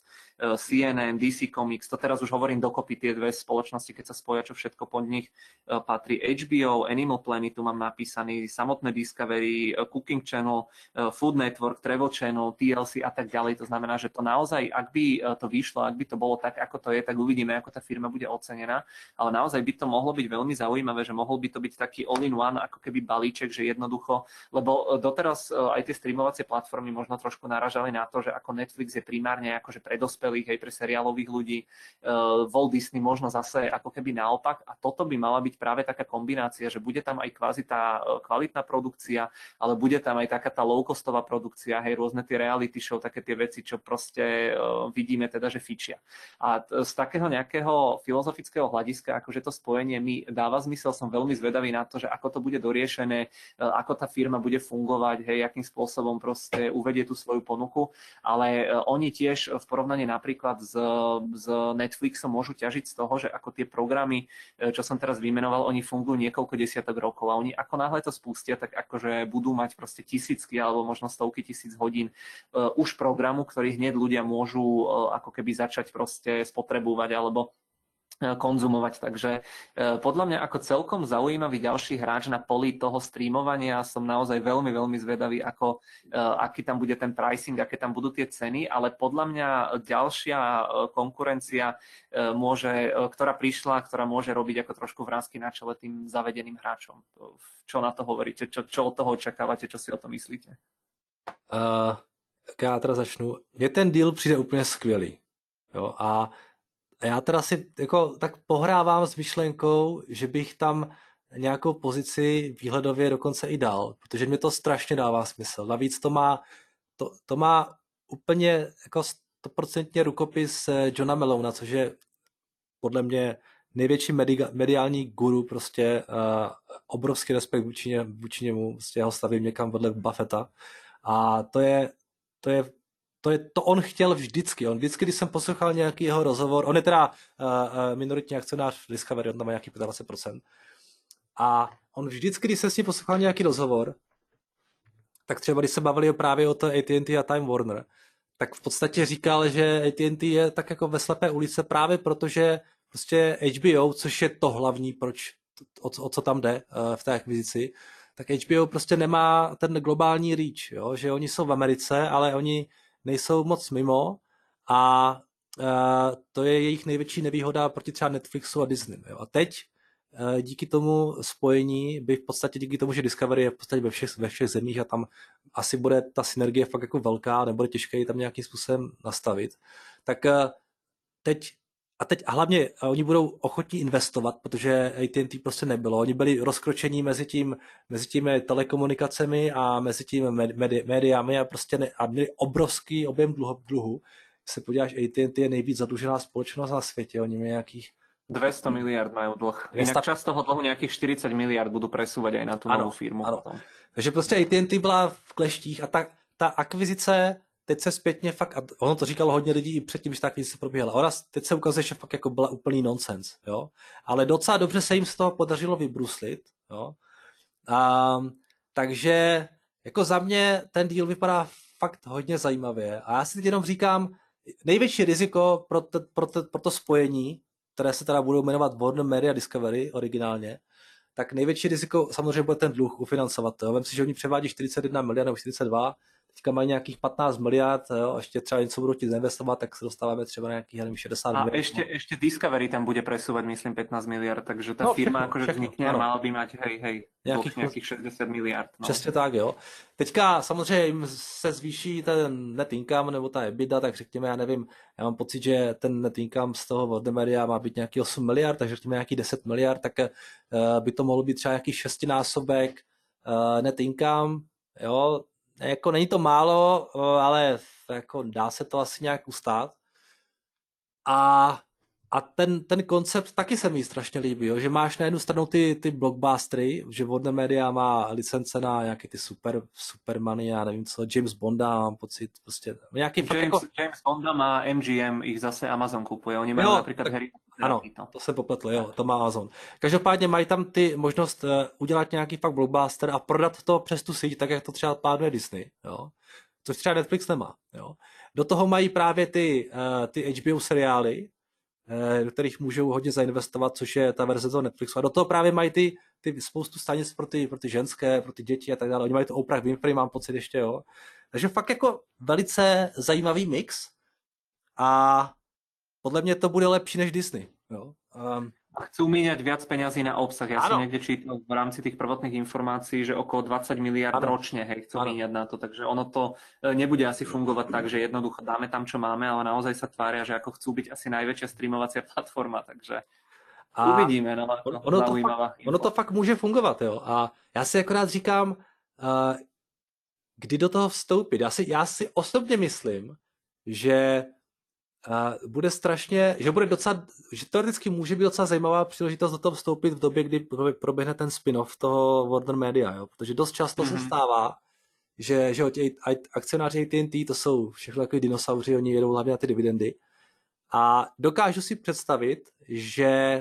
CNN, DC Comics, to teraz už hovorím dokopy tie dve spoločnosti, keď sa spoja, čo všetko pod nich patrí. HBO, Animal Planet, tu mám napísaný, samotné Discovery, Cooking Channel, Food Network, Travel Channel, TLC a tak ďalej. To znamená, že to naozaj, ak by to vyšlo, ak by to bolo tak, ako to je, tak uvidíme, ako tá firma bude ocenená, ale naozaj by to mohlo byť veľmi zaujímavé, že mohol by to byť taký all-in-one, ako keby balíček, že jednoducho, lebo doteraz aj tie streamovacie platformy možno trošku naražali na to, že ako Netflix je primárne akože pre dospelých, aj pre seriálových ľudí, Walt Disney možno zase ako keby naopak a toto by mala byť práve taká kombinácia, že bude tam aj kvázi tá kvalitná produkcia, ale bude tam aj taká tá low-costová produkcia, hej, rôzne tie reality show, také tie veci, čo proste vidíme teda, že fičia. A z takého nejakého filozofického hľadiska, akože to spojenie mi dáva zmysel, som veľmi zvedavý na to, že ako to bude doriešené, ako tá firma bude fungovať, hej, akým spôsobom proste uvedie tú svoju ponuku, ale oni tiež v porovnaní napríklad s Netflixom môžu ťažiť z toho, že ako tie programy, čo som teraz vymenoval, oni fungujú niekoľko desiatok rokov a oni ako náhle to spustia, tak akože budú mať proste tisícky alebo možno stovky tisíc hodín už programu, ktorý hneď ľudia môžu ako keby začať proste spotrebovať alebo konzumovať. Takže podľa mňa ako celkom zaujímavý ďalší hráč na poli toho streamovania. Som naozaj veľmi, veľmi zvedavý, aký tam bude ten pricing, aké tam budú tie ceny, ale podľa mňa ďalšia konkurencia ktorá prišla, ktorá môže robiť ako trošku vrásky na čele tým zavedeným hráčom. Čo na to hovoríte? Čo od toho očakávate? Čo si o tom myslíte? Já teda začnu. Mně ten deal přijde úplně skvělý. Jo? A já teda si jako tak pohrávám s myšlenkou, že bych tam nějakou pozici výhledově dokonce i dal, protože mě to strašně dává smysl. Navíc to má úplně jako 100% rukopis Johna Malona, což je podle mě největší mediální guru, prostě obrovský respekt vůči němu, prostě ho stavím někam vedle Buffetta. A to on chtěl vždycky. On vždycky, když jsem poslouchal nějaký jeho rozhovor, on je teda minoritní akcionář v Discovery, on tam má nějaký 25%. A on vždycky, když jsem s ním poslouchal nějaký rozhovor, tak třeba když se bavili právě o to AT&T a Time Warner, tak v podstatě říkal, že AT&T je tak jako ve slepé ulice právě protože prostě HBO, což je to hlavní, o co tam jde v té akvizici, tak HBO prostě nemá ten globální reach, jo? Že oni jsou v Americe, ale oni nejsou moc mimo a to je jejich největší nevýhoda proti třeba Netflixu a Disney. Jo? A teď díky tomu spojení by v podstatě díky tomu, že Discovery je v podstatě ve všech zemích a tam asi bude ta synergie fakt jako velká, nebude těžké ji tam nějakým způsobem nastavit, tak teď a hlavně oni budou ochotní investovat, protože AT&T prostě nebylo. Oni byli rozkročení mezi těmi telekomunikacemi a mezi těmi médiami a prostě a měli obrovský objem dluhu. Když se podíváš, AT&T je nejvíc zadlužená společnost na světě. Oni mají nějakých 200 miliard majú dlh. Inak časť toho dlhu nejakých 40 miliard budú presúvať aj na tú novú firmu. Ano. Takže prostě AT&T byla v kleštích a ta akvizice teď se zpětně fakt, a ono to říkalo hodně lidí i předtím, když ta akvizice probíhala. Ona teď se ukazuje, že fakt jako byla úplný nonsens, jo. Ale docela dobře se jim z toho podařilo vybruslit, jo. Takže jako za mě ten deal vypadá fakt hodně zajímavě. A já si teď jenom říkám, největší riziko pro to spojení, které se teda budou jmenovat Warner Media Discovery originálně, tak největší riziko samozřejmě bude ten dluh ufinancovat. Vem si, že oni převádí 41 miliard nebo 42, teďka mají nějakých 15 miliard, jo, a ještě třeba něco budou chtít zainvestovat, tak se dostáváme třeba na nějakých 60 miliard. A ešte Discovery tam bude presúvať, myslím, 15 miliard, takže tá firma akože vznikne a mala by mať, nějakých 60 miliard. No. Přesně tak, jo. Teďka samozřejmě jim se zvýší ten net income nebo ta EBITDA, tak řekněme, já nevím, já mám pocit, že ten net income z toho Warner Media má být nějaký 8 miliard, takže řekněme nějaký 10 miliard, tak by to mohlo být třeba nějaký 6násobek net income, jo. Jako není to málo, ale jako dá se to asi nějak ustát. A ten koncept taky se mi strašně líbí, jo? Že máš na jednu stranu ty blockbustery, že Warner Media má licence na nějaké ty Supermany, já nevím co, James Bonda, mám pocit, prostě nějaký James Bonda má MGM, ich zase Amazon kupuje, oni mají například Harry Potter. Ano, to se popletlo, jo, to má Amazon. Každopádně mají tam ty možnost udělat nějaký fakt blockbuster a prodat to přes tu síť, tak jak to třeba plánuje Disney, jo. Což třeba Netflix nemá, jo. Do toho mají právě ty HBO seriály, do kterých můžou hodně zainvestovat, což je ta verze toho Netflixu. A do toho právě mají ty spoustu stanic pro ty ženské, pro ty děti a tak dále. Oni mají to Oprah Winfrey, mám pocit ještě, jo. Takže fakt jako velice zajímavý mix a podle mě to bude lepší než Disney, jo. Chcú míňať viac peňazí na obsah. Ja som niekde čítal v rámci tých prvotných informácií, že okolo 20 miliard ročne chcú míňať na to, takže ono to nebude asi fungovať tak, že jednoducho dáme tam, čo máme, ale naozaj sa tvária, že ako chcú byť asi najväčšia streamovacia platforma, takže uvidíme. No, ono to fakt může fungovat, jo. A já si akorát říkám, kdy do toho vstoupit. Já si osobně myslím, že bude strašně, že teoreticky může být docela zajímavá příležitost do toho vstoupit v době, kdy proběhne ten spin-off toho Warner Media, jo? Protože dost často se stává, že akcionáři AT&T, to jsou všechno takový dinosauři, oni jedou hlavně na ty dividendy a dokážu si představit, že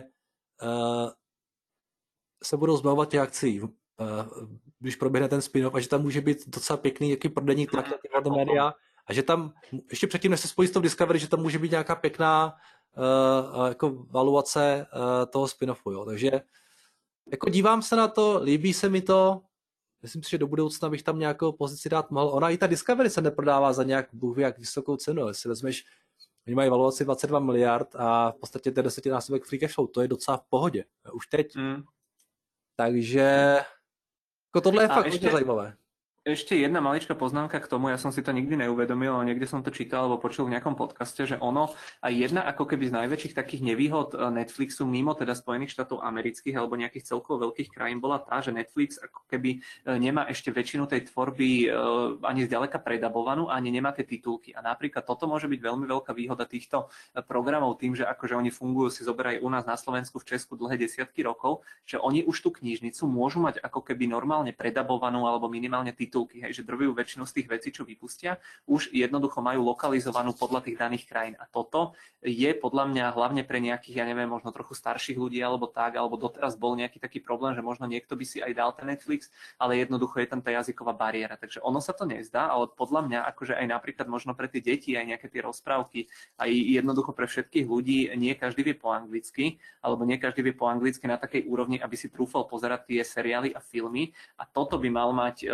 se budou zbavovat těch akcí, když proběhne ten spin-off a že tam může být docela pěkný jaký prodejní tlak na ty Warner Media. A že tam, ještě předtím, než se spojí s tou Discovery, že tam může být nějaká pěkná jako valuace toho spin-offu, jo. Takže jako dívám se na to, líbí se mi to, myslím si, že do budoucna bych tam nějakou pozici dát mohl. Ona i ta Discovery se neprodává za nějak bůh ví jak vysokou cenu, jestli vezmeš, oni mají valuaci 22 miliard a v podstatě ten 10násobek free cash flow, to je docela v pohodě, už teď. Takže jako tohle je fakt hodně zajímavé. Ešte jedna maličká poznámka k tomu, ja som si to nikdy neuvedomil, ale niekde som to čítal alebo počul v nejakom podcaste, že ono a jedna ako keby z najväčších takých nevýhod Netflixu mimo teda Spojených štátov amerických alebo nejakých celkovo veľkých krajín bola tá, že Netflix ako keby nemá ešte väčšinu tej tvorby ani zďaleka predabovanú, ani nemá tie titulky. A napríklad toto môže byť veľmi veľká výhoda týchto programov tým, že akože oni fungujú, si zoberajú u nás na Slovensku, v Česku dlhé desiatky rokov, že oni už tú knižnicu môžu mať ako keby normálne predabovanú alebo minimálne titulky, hej, že drvivú väčšinu z tých vecí, čo vypustia, už jednoducho majú lokalizovanú podľa tých daných krajín. A toto je podľa mňa hlavne pre nejakých, ja neviem, možno trochu starších ľudí alebo tak, alebo doteraz bol nejaký taký problém, že možno niekto by si aj dal ten Netflix, ale jednoducho je tam tá jazyková bariéra. Takže ono sa to nezdá, ale podľa mňa akože aj napríklad možno pre tie deti aj nejaké tie rozprávky, aj jednoducho pre všetkých ľudí nie každý vie po anglicky, alebo nie každý vie po anglicky na takej úrovni, aby si trúfal pozerať tie seriály a filmy. A toto by mal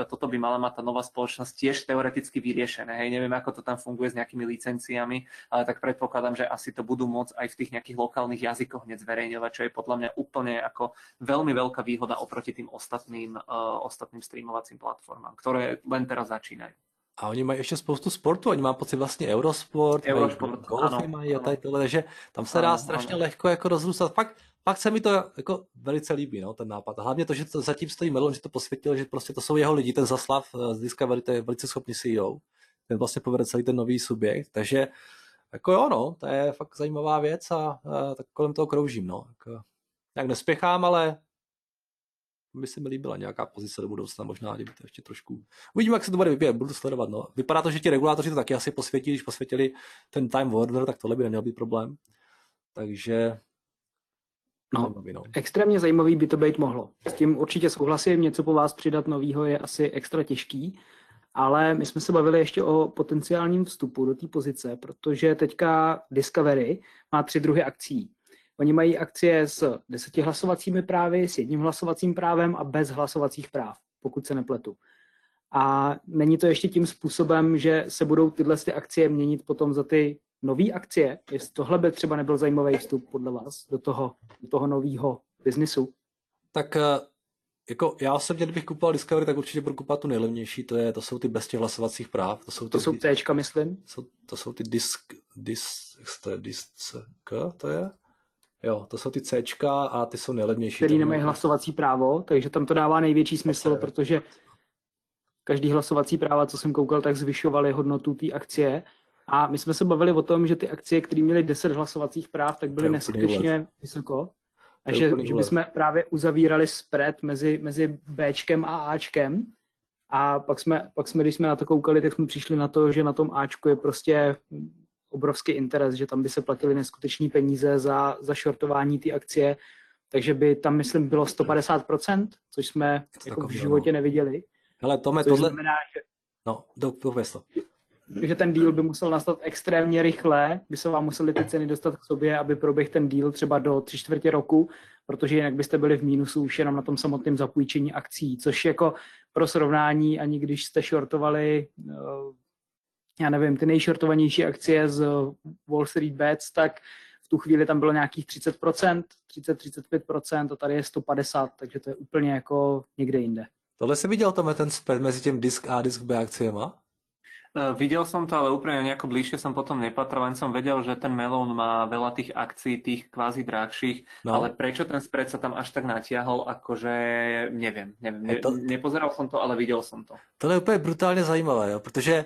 mala mať tá nová spoločnosť tiež teoreticky vyriešené. Hej, neviem, ako to tam funguje s nejakými licenciami, ale tak predpokladám, že asi to budú môcť aj v tých nejakých lokálnych jazykoch hneď zverejňovať, čo je podľa mňa úplne ako veľmi veľká výhoda oproti tým ostatným streamovacím platformám, ktoré len teraz začínajú. A oni mají ještě spoustu sportu, oni mají pocit vlastně Eurosport, golfy mají a tady tohle, takže tam se dá strašně lehko jako rozrůstat. Fakt se mi to jako velice líbí, no, ten nápad. A hlavně to, že to zatím stojí Melon, že to posvětil, že prostě to jsou jeho lidi, ten Zaslav z Discovery, to je velice schopný CEO, ten vlastně povede celý ten nový subjekt, takže jako jo, no, to je fakt zajímavá věc a tak kolem toho kroužím, no. Jako, jak nespěchám, ale by se mi líbila nějaká pozice do budoucna, možná kdyby to ještě trošku. Uvidíme, jak se to bude vyvíjet, budu sledovat. No. Vypadá to, že ti regulátoři to taky asi posvětí, když posvětili ten Time Warner, tak tohle by neměl být problém. Takže extrémně zajímavý by to být mohlo. S tím určitě souhlasím, něco po vás přidat novýho je asi extra těžký, ale my jsme se bavili ještě o potenciálním vstupu do té pozice, protože teďka Discovery má 3 druhy akcí. Oni mají akcie s 10 hlasovacími právy, s 1 hlasovacím právem a bez hlasovacích práv, pokud se nepletu. A není to ještě tím způsobem, že se budou tyhle akcie měnit potom za ty nové akcie? Jestli tohle by třeba nebyl zajímavý vstup podle vás do toho nového biznisu? Tak jako já osobně, kdybych kupoval Discovery, tak určitě budu kupovat tu nejlevnější, to jsou ty bez těch hlasovacích práv. To jsou Cčka, myslím? To jsou ty to je? Jo, to jsou ty Cčka a ty jsou nejlevnější. Který nemají hlasovací právo, takže tam to dává největší smysl, protože každý hlasovací práva, co jsem koukal, tak zvyšovaly hodnotu té akcie. A my jsme se bavili o tom, že ty akcie, které měly 10 hlasovacích práv, tak byly neskutečně vysoko. A že bychom právě uzavírali spread mezi Bčkem a Ačkem. A pak jsme, když jsme na to koukali, tak jsme přišli na to, že na tom Ačku je prostě obrovský interes, že tam by se platily neskutečné peníze za shortování té akcie, takže by tam, myslím, bylo 150%, což jsme jako v životě neviděli. Hele, Tome, tohle znamená, že... No, dověz to. že ten deal by musel nastat extrémně rychle, by se vám museli ty ceny dostat k sobě, aby proběhl ten deal třeba do 3/4 roku, protože jinak byste byli v mínusu už jenom na tom samotném zapůjčení akcí, což jako pro srovnání, ani když jste shortovali, já nevím, ty nejshortovanější akcie z Wall Street Bets, tak v tu chvíli tam bylo nějakých 30%, 30-35% a tady je 150%, takže to je úplně jako někde jinde. Tohle si viděl, Tome, ten spread mezi tím disk A a disk B akciema? Videl som to, ale úplne nejako bližšie som potom nepatral, len som vedel, že ten Melon má veľa tých akcií, tých kvázi drahších, ale prečo ten spread sa tam až tak natiahol, akože neviem. Nepozeral som to, ale videl som to. To je úplně brutálně zajímavé, jo, protože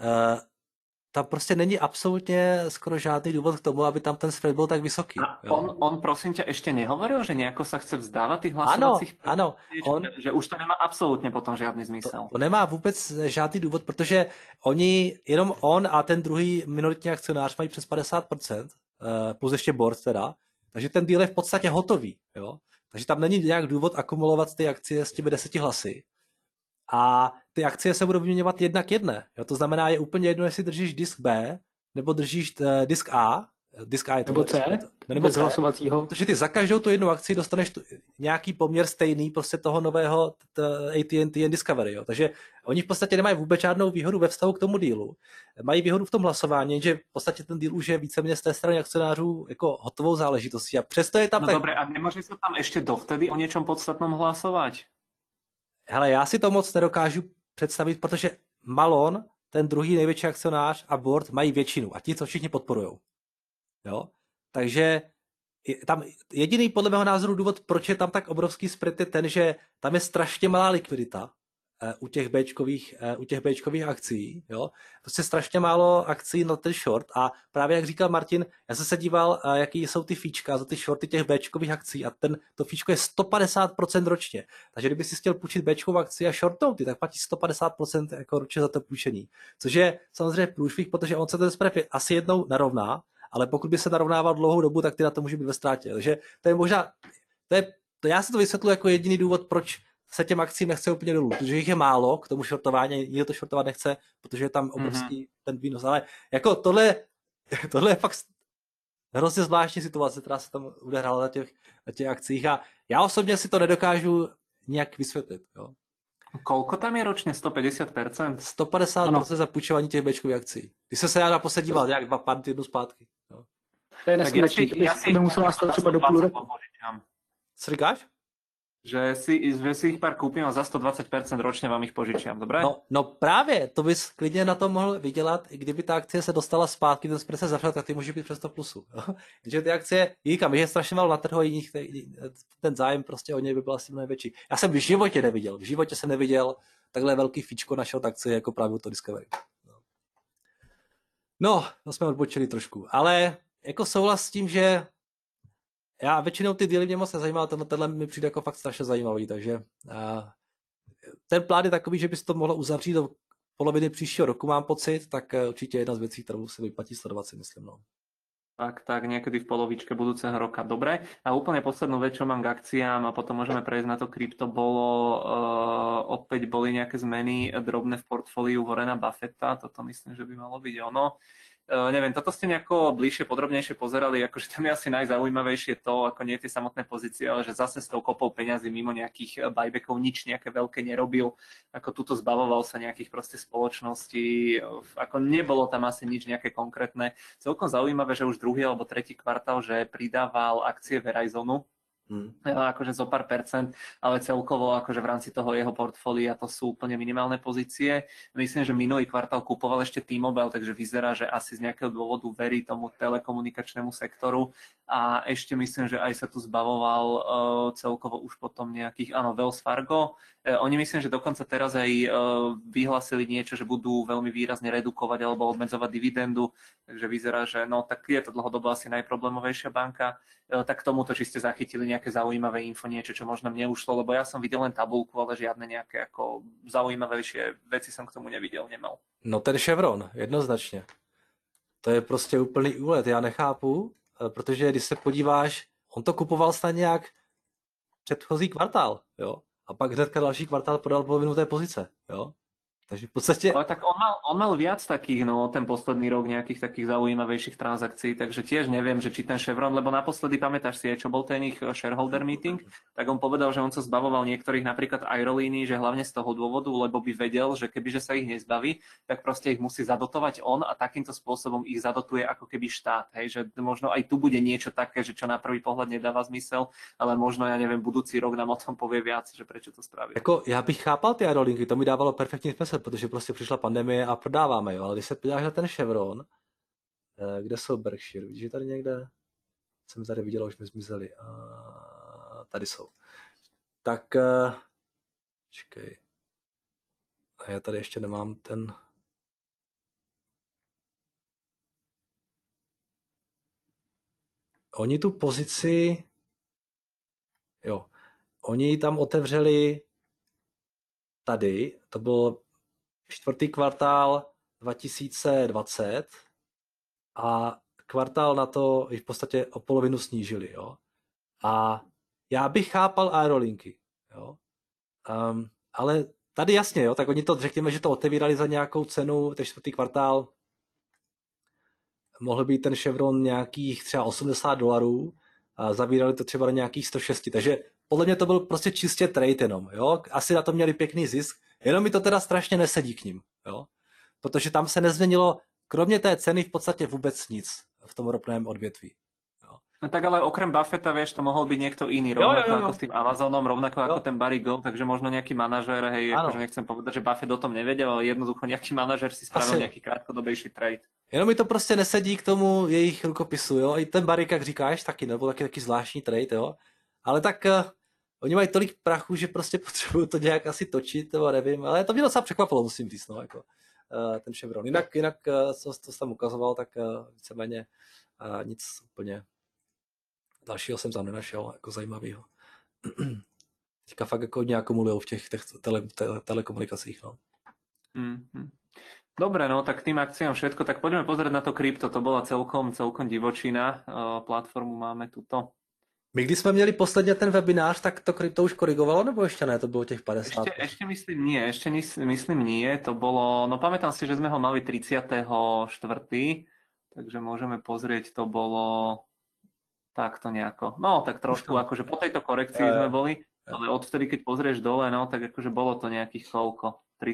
tam prostě není absolutně skoro žádný důvod k tomu, aby tam ten spread byl tak vysoký. A on prosím ťa ešte nehovoril, že nejako sa chce vzdávať tých hlasovacích? Ano. Že už to nemá absolutně potom žádný zmysel. To nemá vůbec žádný důvod, protože jenom on a ten druhý minoritní akcionář mají přes 50%, plus ještě board teda, takže ten deal je v podstatě hotový. Jo? Takže tam není nějak důvod akumulovat ty akcie s těmi 10 hlasy. A ty akcie se budou vyměňovat 1 k 1. Jo? To znamená, je úplně jedno, jestli držíš disk B, nebo držíš disk A. Disk A je to nebo C, nebo C, hlasovacího. Protože ty za každou tu jednu akci dostaneš nějaký poměr stejný prostě toho nového AT&T Discovery. Jo? Takže oni v podstatě nemají vůbec žádnou výhodu ve vztahu k tomu dealu. Mají výhodu v tom hlasování, že v podstatě ten deal už je víceméně z té strany akcionářů jako hotovou záležitostí. A přesto je tam... No dobré, a nemůže se tam ještě dovtedy o něčem podstatnom hlasovat? Hele, já si to moc nedokážu představit, protože Malon, ten druhý největší akcionář a board mají většinu a ti to všichni podporujou. Jo? Takže tam jediný podle mého názoru důvod, proč je tam tak obrovský spread, je ten, že tam je strašně malá likvidita u těch Bčkových akcí. Jo? Prostě strašně málo akcí na ten short a právě jak říkal Martin, já jsem se díval, jaký jsou ty fíčka za ty shorty těch Bčkových akcí a to fíčko je 150% ročně. Takže kdyby si chtěl půjčit Bčkovou akci a shortnout ty, tak platí 150% jako ročně za to půjčení. Což je samozřejmě průšvih, protože on se ten spread asi jednou narovná, ale pokud by se narovnával dlouhou dobu, tak ty na to může být ve ztrátě. Takže to je možná, já si to vysvětluji jako jediný důvod, proč se těm akcím nechce úplně dolů, protože jich je málo k tomu shortování, nikdo to shortovat nechce, protože je tam obrovský ten výnos, ale jako tohle je fakt hrozně zvláštní situace, která se tam odehrála na těch akcích a já osobně si to nedokážu nějak vysvětlit. Jo. Koľko tam je ročne? 150%? 150% za půjčování těch Bčkových akcí. Když jsem se já naposled díval, nějak 2 týdnů zpátky. No. To je neskutečný, to by muselo nastat třeba do půl roku. Co říkáš? Že si ich pár kúpim a za 120% ročne vám ich požičiam, dobre? No právě, to bys klidně na to mohl vydělat, i kdyby ta akcie se dostala zpátky, ten spread se zavřel, tak ty může být přes 100 plusu. Takže ty akcie, říkám, je strašně málo na trhu, ten zájem prostě o něj by byl asi mnohem větší. Já jsem v životě jsem neviděl takhle velký fíčko našeho akcie jako právě to Discovery. No, to jsme odbočili trošku, ale jako souhlas s tím, že já většinou ty díly mě moc nezajímá, tenhle mi přijde jako fakt strašně zajímavý, takže ten plán je takový, že by se to mohlo uzavřít do poloviny příštího roku, mám pocit, tak určitě jedna z věcí, kterou se vyplatí sledovat, si myslím. No. Tak niekedy v polovičke budúceho roka. Dobre. A úplne poslednú vec, čo mám k akciám a potom môžeme prejsť na to krypto, opäť boli nejaké zmeny drobné v portfóliu Warrena Buffetta, toto myslím, že by malo byť ono. Neviem, toto ste nejako bližšie, podrobnejšie pozerali, akože tam je asi najzaujímavejšie to, ako nie tie samotné pozície, ale že zase s tou kopou peňazí mimo nejakých buybackov nič nejaké veľké nerobil, ako tuto zbavoval sa nejakých proste spoločností, ako nebolo tam asi nič nejaké konkrétne. Celkom zaujímavé, že už druhý alebo tretí kvartál, že pridával akcie Verizonu, akože zo pár percent, ale celkovo akože v rámci toho jeho portfólia to sú úplne minimálne pozície. Myslím, že minulý kvartál kupoval ešte T-Mobile, takže vyzerá, že asi z nejakého dôvodu verí tomu telekomunikačnému sektoru a ešte myslím, že aj sa tu zbavoval celkovo už potom nejakých, Wells Fargo. Oni myslím, že dokonca teraz aj vyhlásili niečo, že budú veľmi výrazne redukovať alebo obmedzovať dividendu, takže vyzerá, že no tak je to dlhodobo asi najproblémovejšia banka. Tak k tomuto, či ste zachytili nejaké zaujímavé info, niečo, čo možno mne ušlo, lebo ja som videl len tabulku, ale žiadne nejaké ako zaujímavejšie veci som k tomu nemal. No ten Chevron, jednoznačně. To je prostě úplný úlet, já nechápu, protože když se podíváš, on to kupoval snad nějak předchozí kvartál, jo? A pak hnedka další kvartál prodal polovinu té pozice, jo? Takže v podstate... Ale tak on mal viac takých, no ten posledný rok nejakých takých zaujímavejších transakcií, takže tiež neviem, že či ten Chevron, lebo naposledy pamätáš si aj, čo bol ten ich shareholder meeting, tak on povedal, že on sa zbavoval niektorých napríklad aerolínií, že hlavne z toho dôvodu, lebo by vedel, že kebyže sa ich nezbaví, tak proste ich musí zadotovať on a takýmto spôsobom ich zadotuje ako keby štát, hej, že možno aj tu bude niečo také, že čo na prvý pohľad nedáva zmysel, ale možno, ja neviem, budúci rok nám o tom povie viac, že prečo to spraví. Jako, já bych chápal ty aerolinky, to mi dávalo perfektní smysl, protože prostě přišla pandemie a prodáváme, jo, ale když se podíváš na ten Chevron, kde jsou Berkshire, vidíš, že tady někde, jsem tady viděl, už mi zmizeli, tady jsou. Tak, čekej, a já tady ještě nemám ten, oni tu pozici, jo, oni ji tam otevřeli tady, to byl čtvrtý kvartál 2020 a kvartál na to v podstatě o polovinu snížili, jo. A já bych chápal aerolinky, jo. Ale tady jasně, jo, tak oni to, řekněme, že to otevírali za nějakou cenu, ten čtvrtý kvartál mohl být ten Chevron nějakých třeba $80 a zavírali to třeba na nějakých 106, takže podle mě to byl prostě čistě trade jenom, jo. Asi na to měli pěkný zisk, jenom mi to teda strašně nesedí k ním, jo. Protože tam se nezměnilo, kromě té ceny v podstatě vůbec nic v tom ropném odvětví. Jo. No tak ale okrem Buffetta, vieš, to mohol byť niekto iný, rovnako ako s tým Amazonom, rovnako ako ten Barry Gold, takže možno nejaký manažér, hej, akože nechcem povedať, že Buffett o tom nevedel, ale jednoducho nejaký manažér si spravil nejaký krátkodobejší trade. Jenom mi to prostě nesedí k tomu jejich rukopisu, jo. I ten Barry, jak říkáš, taky nebo taky zvláštní trade, jo. Ale tak oni mají tolik prachu, že prostě potřebují to nějak asi točit, nebo nevím, ale to mě docela překvapilo, musím říct, no, jako ten Chevron. Jinak co tam ukazoval, tak víceméně nic úplně dalšího jsem tam nenašel, jako zajímavého. Teďka fakt jako hodně akumulujou v těch telekomunikacích, no. Dobre, no tak tým akciám všetko, tak poďme pozrieť na to krypto, to bola celkom divočina, platformu máme tuto. My když jsme měli posledně ten webinář, tak to krypto už korigovalo, nebo ještě ne? To bylo těch 50? Ešte myslím nie, to bolo, no pamätám si, že sme ho mali 34., takže môžeme pozrieť, to bolo takto nejako, no tak trošku, akože po tejto korekcii sme boli, Ale odvtedy, keď pozrieš dole, no tak akože bolo to nejakých koľko?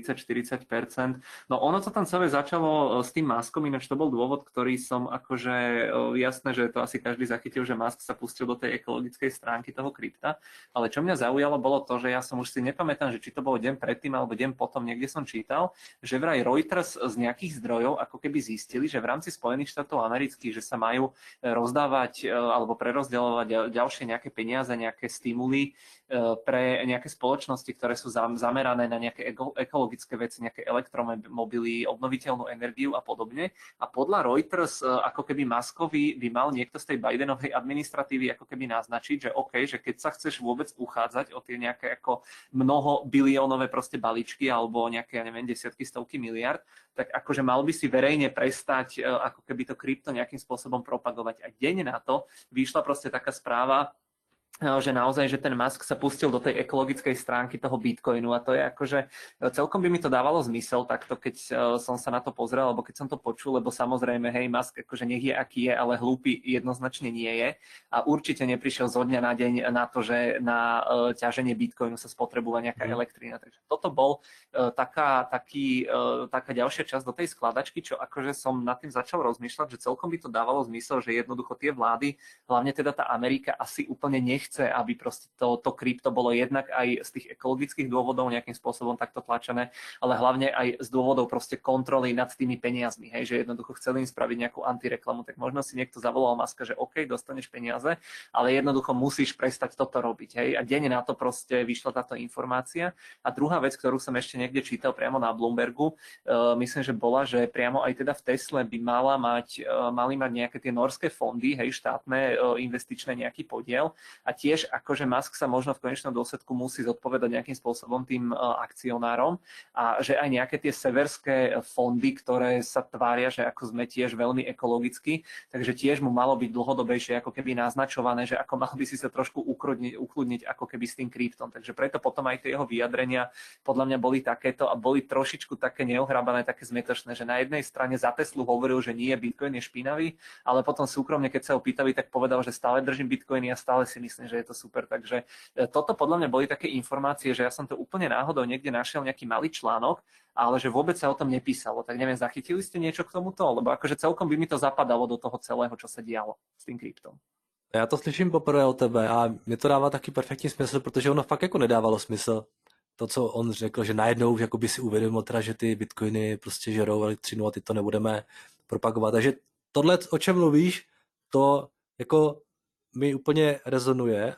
30-40%. No ono to tam celé začalo s tým Muskom, ináč to bol dôvod, ktorý som akože, jasné, že to asi každý zachytil, že Musk sa pustil do tej ekologickej stránky toho krypta, ale čo mňa zaujalo bolo to, že ja som už si nepamätám, že či to bolo deň predtým alebo deň potom, niekde som čítal, že vraj Reuters z nejakých zdrojov ako keby zistili, že v rámci Spojených štátov amerických, že sa majú rozdávať alebo prerozdeľovať ďalšie nejaké peniaze, nejaké stimuly pre nejaké spoločnosti, ktoré sú zamerané na nejaké ekologické veci, nejaké elektromobily, obnoviteľnú energiu a podobne. A podľa Reuters, ako keby Muskovi by mal niekto z tej Bidenovej administratívy ako keby naznačiť, že OK, že keď sa chceš vôbec uchádzať o tie nejaké ako mnoho biliónové proste balíčky alebo nejaké, ja neviem, desiatky, stovky miliard, tak akože mal by si verejne prestať ako keby to krypto nejakým spôsobom propagovať. A deň na to vyšla proste taká správa, že naozaj, že ten Musk sa pustil do tej ekologickej stránky toho Bitcoinu a to je akože, celkom by mi to dávalo zmysel takto, keď som sa na to pozrel, alebo keď som to počul, lebo samozrejme, hej, Musk akože nech je aký je, ale hlúpy jednoznačne nie je a určite neprišiel zo dňa na deň na to, že na ťaženie Bitcoinu sa spotrebuje nejaká elektrina. Takže toto bol taká ďalšia časť do tej skladačky, čo akože som nad tým začal rozmýšľať, že celkom by to dávalo zmysel, že jednoducho tie vlády, hlavne teda tá Amerika asi úplne chce, aby proste to krypto bolo jednak aj z tých ekologických dôvodov nejakým spôsobom takto tlačené, ale hlavne aj z dôvodov proste kontroly nad tými peniazmi, hej, že jednoducho chceli im spraviť nejakú antireklamu, tak možno si niekto zavolal Muska, že OK, dostaneš peniaze, ale jednoducho musíš prestať toto robiť, hej, a deň na to proste vyšla táto informácia. A druhá vec, ktorú som ešte niekde čítal priamo na Bloombergu, myslím, že bola, že priamo aj teda v Tesle by mali mať nejaké tie norské fondy, hej, štátne investičné nejaký podiel. A tiež akože Musk sa možno v konečnom dôsledku musí zodpovedať nejakým spôsobom tým akcionárom a že aj nejaké tie severské fondy, ktoré sa tvária, že ako sme tiež veľmi ekologicky, takže tiež mu malo byť dlhodobejšie ako keby naznačované, že ako mal by si sa trošku ukludniť ako keby s tým kryptom. Takže preto potom aj tie jeho vyjadrenia podľa mňa boli takéto a boli trošičku také neohrabané, také zmetočné, že na jednej strane za Teslu hovoril, že nie, Bitcoin je špinavý, ale potom súkromne, keď sa ho pýtali, tak povedal, že stále držím Bitcoiny a stále si myslím, že je to super. Takže toto podľa mňa boli také informácie, že ja som to úplne náhodou niekde našiel nejaký malý článok, ale že vôbec sa o tom nepísalo. Tak neviem, zachytili ste niečo k tomuto? Lebo akože celkom by mi to zapadalo do toho celého, čo sa dialo s tým kryptom. Já to slyším poprvé od tebe a mě to dává taky perfektní smysl, protože ono fakt jako nedávalo smysl. To, co on řekl, že najednou už jako by si uvědomil teda, že ty bitcoiny prostě žerou elektřinu a ty to nebudeme propagovat. Takže tohle, o čem mluvíš, to jako mi úplně rezonuje,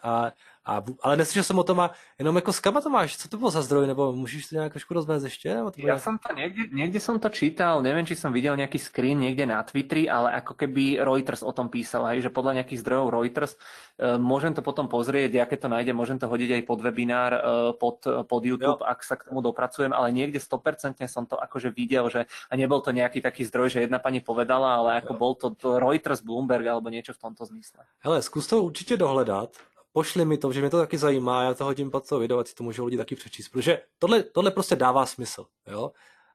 ale neslyšel jsem o tom a jenom jako s kama to máš, co to bylo za zdroj, nebo můžeš to nějak trošku rozvést ještě? Ja som to niekde som to čítal, neviem, či som videl nejaký screen niekde na Twitteri, ale ako keby Reuters o tom písal, hej, že podľa nejakých zdrojov Reuters, môžem to potom pozrieť, ja keď to nájdem, môžem to hodiť aj pod webinár, pod YouTube, ak sa k tomu dopracujem, ale niekde 100% som to akože videl, že a nebol to nejaký taký zdroj, že jedna pani povedala, ale ako bol to Reuters, Bloomberg alebo niečo v tomto zmysle. Hele, zkus to určitě dohledat. Pošli mi to, že mě to taky zajímá, já to hodím pod to video, ať si to můžou lidi taky přečíst, protože tohle prostě dává smysl. Jo?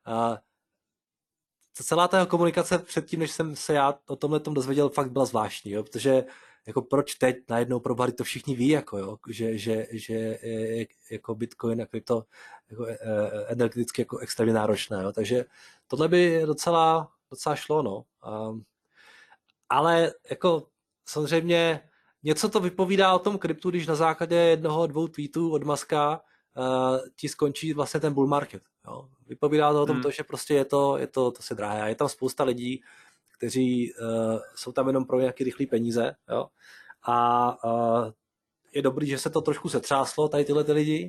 Celá ta komunikace předtím, než jsem se já o tomhle dozvěděl, fakt byla zvláštní, jo? Protože jako proč teď najednou probali to všichni ví, jako, jo? Že jako Bitcoin a krypto jako, energeticky jako extrémně náročné. Jo? Takže tohle by docela šlo. No. Ale jako samozřejmě něco to vypovídá o tom kryptu, když na základě 1-2 tweetů od Muska ti skončí vlastně ten bull market. Jo. Vypovídá to o tom, že prostě je to se drahé. A je tam spousta lidí, kteří jsou tam jenom pro nějaké rychlé peníze. Jo. A je dobrý, že se to trošku setřáslo, tady tyhle ty lidi,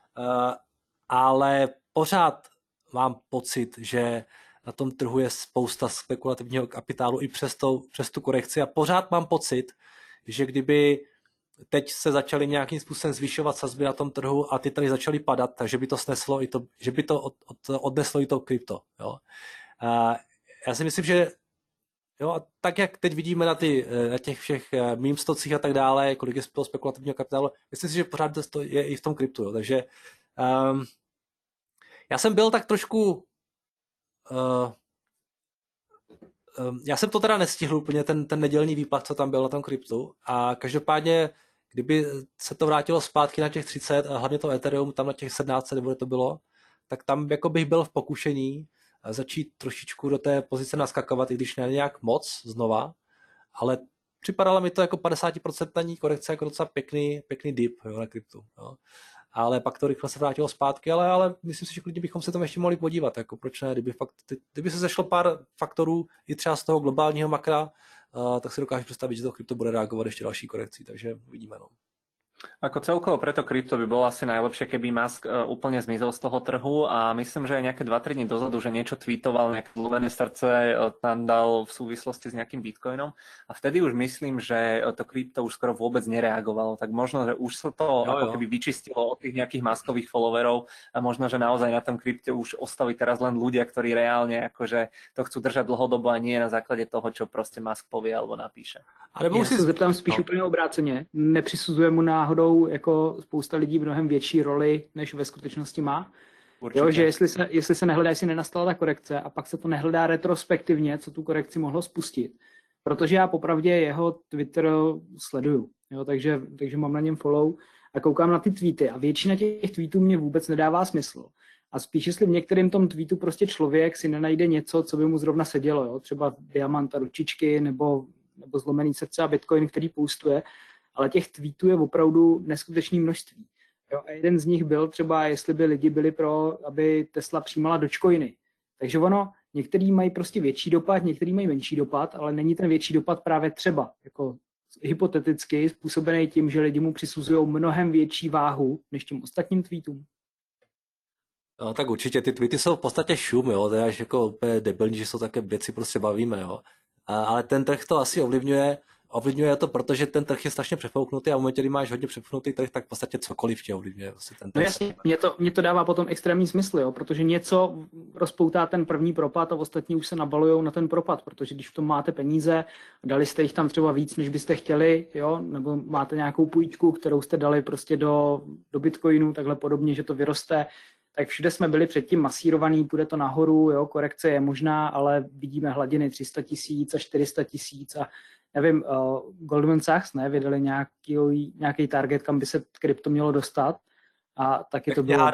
ale pořád mám pocit, že na tom trhu je spousta spekulativního kapitálu i přes tu korekci a pořád mám pocit, že kdyby teď se začaly nějakým způsobem zvyšovat sazby na tom trhu a ty tady začaly padat, takže by to sneslo i to, že by to odneslo i to krypto. Jo. Já si myslím, že jo, a tak jak teď vidíme na těch všech meme stocích a tak dále, kolik je toho spekulativního kapitálu, myslím si, že pořád to je i v tom kryptu. Jo. Takže já jsem byl tak trošku já jsem to teda nestihl úplně, ten nedělní výplach, co tam byl na tom kryptu a každopádně kdyby se to vrátilo zpátky na těch 30 a hlavně to Ethereum tam na těch 17, nebo to bylo, tak tam jako bych byl v pokušení začít trošičku do té pozice naskakovat, i když ne nějak moc znova, ale připadalo mi to jako 50% korekce, jako docela pěkný dip, jo, na kryptu. Jo. Ale pak to rychle se vrátilo zpátky, ale myslím si, že klidně bychom se tam ještě mohli podívat, jako proč ne, kdyby se zešlo pár faktorů i třeba z toho globálního makra, tak si dokážu představit, že to krypto bude reagovat ještě další korekcí, takže uvidíme. No. Ako celkovo preto krypto by bolo asi najlepšie, keby Musk úplne zmizol z toho trhu a myslím, že aj nejaké 2-3 dní dozadu, že niečo tweetoval, nejaké zlomené srdce tam dal v súvislosti s nejakým bitcoinom a vtedy už myslím, že to krypto už skoro vôbec nereagovalo, tak možno, že už sa to ako keby vyčistilo od tých nejakých Muskových followerov a možno, že naozaj na tom krypte už ostali teraz len ľudia, ktorí reálne akože to chcú držať dlhodobo a nie na základe toho, čo proste Musk povie alebo napíše. Já se zeptám spíš úplně obráceně. Nepřisuzuje mu náhodou jako spousta lidí mnohem větší roli, než ve skutečnosti má? Jo, že jestli se nehledá, jestli nenastala ta korekce a pak se to nehledá retrospektivně, co tu korekci mohlo spustit. Protože já popravdě jeho Twitter sleduju, jo, takže mám na něm follow a koukám na ty tweety a většina těch tweetů mě vůbec nedává smysl. A spíš, jestli v některém tom tweetu prostě člověk si nenajde něco, co by mu zrovna sedělo, jo, třeba diamant a ručičky nebo zlomený srdce a bitcoin, který postuje, ale těch tweetů je opravdu neskutečné množství. Jo, a jeden z nich byl třeba, jestli by lidi byli pro, aby Tesla přijímala dogecoiny. Takže ono, některý mají prostě větší dopad, některý mají menší dopad, ale není ten větší dopad právě třeba jako hypoteticky způsobený tím, že lidi mu přisuzují mnohem větší váhu než těm ostatním tweetům. No, tak určitě ty tweety jsou v podstatě šum, jo, to je až jako úplně debilní, že jsou také věci prostě bavíme, jo. Ale ten trh to asi ovlivňuje to, protože ten trh je strašně přefouknutý a v momentě, kdy máš hodně přefouknutý trh, tak v podstatě cokoliv tě ovlivňuje. Vlastně ten trh. No jasně, mě to dává potom extrémní smysl, jo, protože něco rozpoutá ten první propad a ostatní už se nabalujou na ten propad, protože když v tom máte peníze, dali jste jich tam třeba víc, než byste chtěli, jo, nebo máte nějakou půjčku, kterou jste dali prostě do bitcoinu, takhle podobně, že to vyroste, tak všude jsme byli předtím masírovaný, půjde to nahoru, jo, korekce je možná, ale vidíme hladiny 300 000 a 400 000 a nevím, Goldman Sachs vydali nějaký target, kam by se krypto mělo dostat a taky to bylo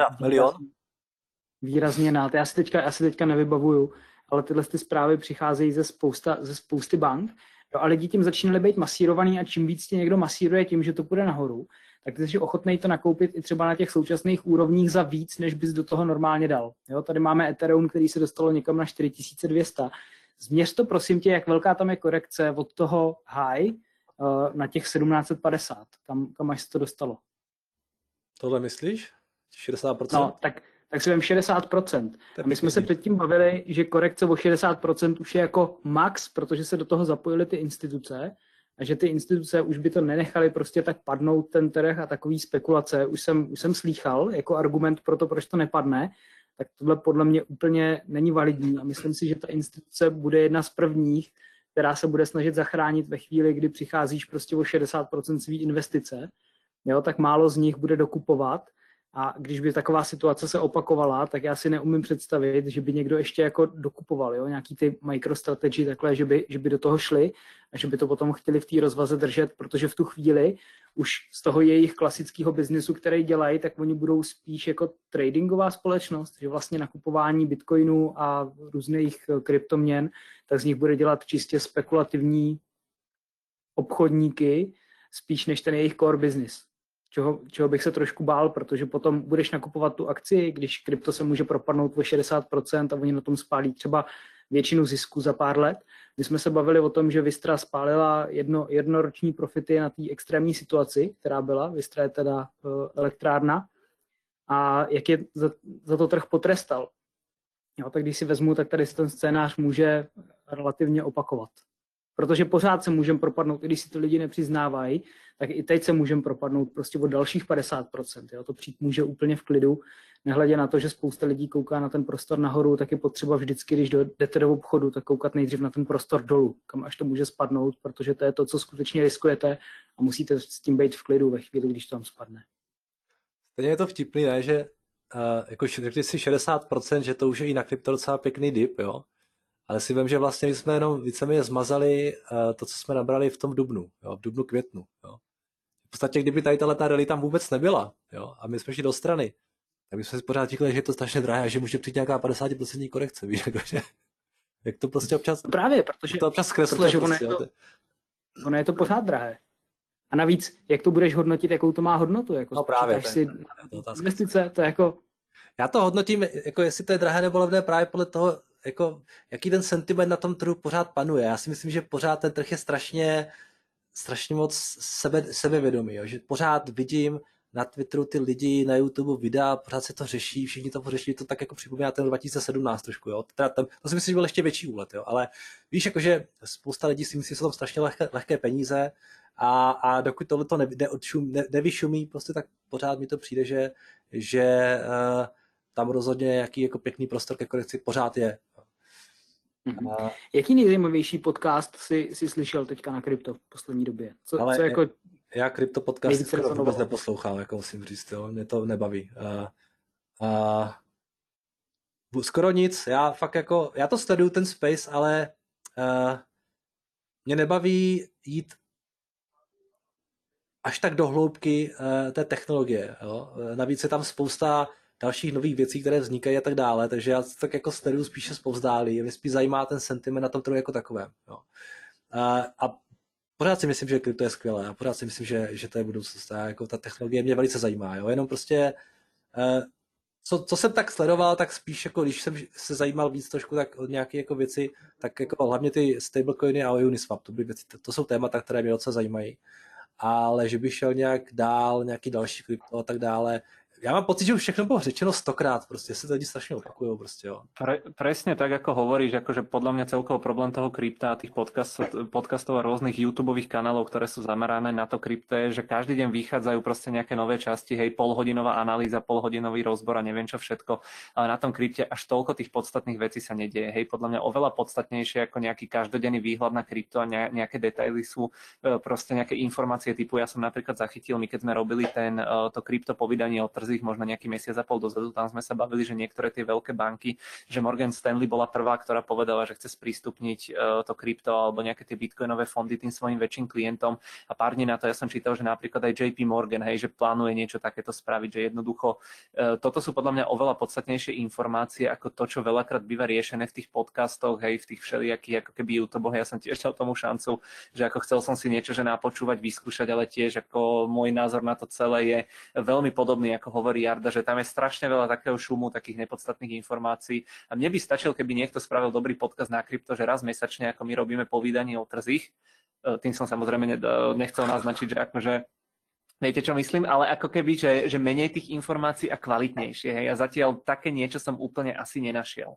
výrazně nad. Já si teďka nevybavuju, ale tyhle ty zprávy přicházejí ze spousty bank, jo, a lidi tím začínali být masírovaný a čím víc tě někdo masíruje tím, že to půjde nahoru, tak ty jsi ochotnej to nakoupit i třeba na těch současných úrovních za víc, než bys do toho normálně dal. Jo, tady máme Ethereum, který se dostalo někam na 4200. Změř to, prosím tě, jak velká tam je korekce od toho high na těch 1750. Kam až se to dostalo? Tohle myslíš? 60%? No, tak si vem 60%. A my jsme se předtím bavili, že korekce o 60% už je jako max, protože se do toho zapojily ty instituce a že ty instituce už by to nenechaly prostě tak padnout ten trh a takový spekulace. Už jsem slýchal jako argument pro to, proč to nepadne, tak tohle podle mě úplně není validní a myslím si, že ta instituce bude jedna z prvních, která se bude snažit zachránit ve chvíli, kdy přicházíš prostě o 60% svý investice, jo, tak málo z nich bude dokupovat a když by taková situace se opakovala, tak já si neumím představit, že by někdo ještě jako dokupoval, jo, nějaký ty microstrategy takhle, že by do toho šli a že by to potom chtěli v té rozvaze držet, protože v tu chvíli už z toho jejich klasického biznesu, který dělají, tak oni budou spíš jako tradingová společnost, že vlastně nakupování bitcoinů a různých kryptoměn, tak z nich bude dělat čistě spekulativní obchodníky, spíš než ten jejich core business. Čeho bych se trošku bál, protože potom budeš nakupovat tu akci, když krypto se může propadnout o 60% a oni na tom spálí třeba většinu zisku za pár let. My jsme se bavili o tom, že Vistra spálila jednoroční profity na té extrémní situaci, která byla. Vistra je teda elektrárna. A jak je za to trh potrestal. Jo, tak když si vezmu, tak tady ten scénář může relativně opakovat. Protože pořád se můžeme propadnout, i když si to lidi nepřiznávají, tak i teď se můžeme propadnout prostě o dalších 50%. Jo? To přijít může úplně v klidu, nehledě na to, že spousta lidí kouká na ten prostor nahoru, tak je potřeba vždycky, když jdete do obchodu, tak koukat nejdřív na ten prostor dolů, kam až to může spadnout, protože to je to, co skutečně riskujete a musíte s tím být v klidu ve chvíli, když to tam spadne. Stejně je to vtipný, ne? Že jako řekli si 60%, že to už je i na krypto docela pěkný dip, jo? Ale si vím, že vlastně jsme jenom víceméně zmazali to, co jsme nabrali v tom dubnu, jo? V dubnu, květnu. Jo? v podstatě, kdyby tady ta rally tam vůbec nebyla, jo, a my jsme šli do strany, tak bychom si pořád říkali, že je to strašně drahé a že může přijít nějaká 50% korekce, víš, jakože, jak to prostě občas, Právě, protože, to občas zkresluje. protože ono je to pořád drahé. A navíc, jak to budeš hodnotit, jakou to má hodnotu? Jako no právě, si to investice, to jako... Já to hodnotím, jako jestli to je drahé nebo levné právě podle toho, jako, jaký ten sentiment na tom trhu pořád panuje. Já si myslím, že pořád ten trh je strašně moc sebevědomý, jo? Že pořád vidím na Twitteru ty lidi, na YouTube videa, pořád se to řeší, všichni to řeší, to tak jako připomíná ten 2017 trošku, jo. Teda to si myslím, že byl ještě větší úlet, jo. Ale víš, jakože spousta lidí si myslí, že jsou tam strašně lehké peníze a dokud tohle to nevyšumí, prostě tak pořád mi to přijde, že tam rozhodně nějaký jako pěkný prostor ke korekci pořád je. Jaký nejzajímavější podcast jsi slyšel teďka na krypto v poslední době? Co jako... Já krypto podcast skoro vůbec neposlouchám, jako musím říct, jo. Mě to nebaví. Skoro nic, já to sleduju ten space, ale mě nebaví jít až tak do hloubky té technologie. Jo. Navíc je tam spousta dalších nových věcí, které vznikají a tak dále, takže já tak jako sleduju spíše zpovzdálí. Mě spíš zajímá ten sentiment na tom trhu jako takovém. Jo. A pořád si myslím, že krypto je skvělé a pořád si myslím, že to je budoucnost. A jako ta technologie mě velice zajímá. Jo. Jenom prostě, co jsem tak sledoval, tak spíš jako když jsem se zajímal víc trošku tak od nějaké jako věci, tak jako hlavně ty stablecoiny a Uniswap, to jsou témata, které mě docela zajímají. Ale že by šel nějak dál, nějaký další krypto a tak dále. Ja mám pocit, že už všechno bylo řečeno 100krát, prostě si to lidi strašne opakujú, prostě, jo. Presne tak, ako hovoríš, akože podľa mňa celkovo problém toho krypta a tých podcastov a rôznych YouTubeových kanálov, ktoré sú zamerané na to krypto, je, že každý deň vychádzajú proste nejaké nové časti, hej, polhodinová analýza, polhodinový rozbor a neviem čo všetko, ale na tom krypte až toľko tých podstatných vecí sa nedieje, hej, podľa mňa oveľa podstatnejšie ako nejaký každodenný výhľad na krypto a nejaké detaily sú proste nejaké informácie typu, ja som napríklad zachytil, my keď sme robili to krypto povydanie o možno nejaký mesiac a pol dozadu, tam sme sa bavili, že niektoré tie veľké banky, že Morgan Stanley bola prvá, ktorá povedala, že chce sprístupniť to krypto alebo nejaké tie bitcoinové fondy tým svojim väčším klientom a pár dní na to ja som čítal, že napríklad aj JP Morgan, hej, že plánuje niečo takéto spraviť, že jednoducho toto sú podľa mňa oveľa podstatnejšie informácie ako to, čo veľakrát býva riešené v tých podcastoch, hej, v tých všelijakých ako keby YouTubeoch. Ja som tiež dal tomu šancu, že ako chcel som si niečo, že napočúvať, vyskúšať, ale tiež ako môj názor na to celé je veľmi podobný, ako hovorí Jarda, že tam je strašne veľa takého šumu, takých nepodstatných informácií a mne by stačil, keby niekto spravil dobrý podcast na krypto, že raz mesačne, ako my robíme povídanie o trzích, tým som samozrejme nechcel naznačiť, že akože viete, čo myslím, ale ako keby, že menej tých informácií a kvalitnejšie, hej, a zatiaľ také niečo som úplne asi nenašiel.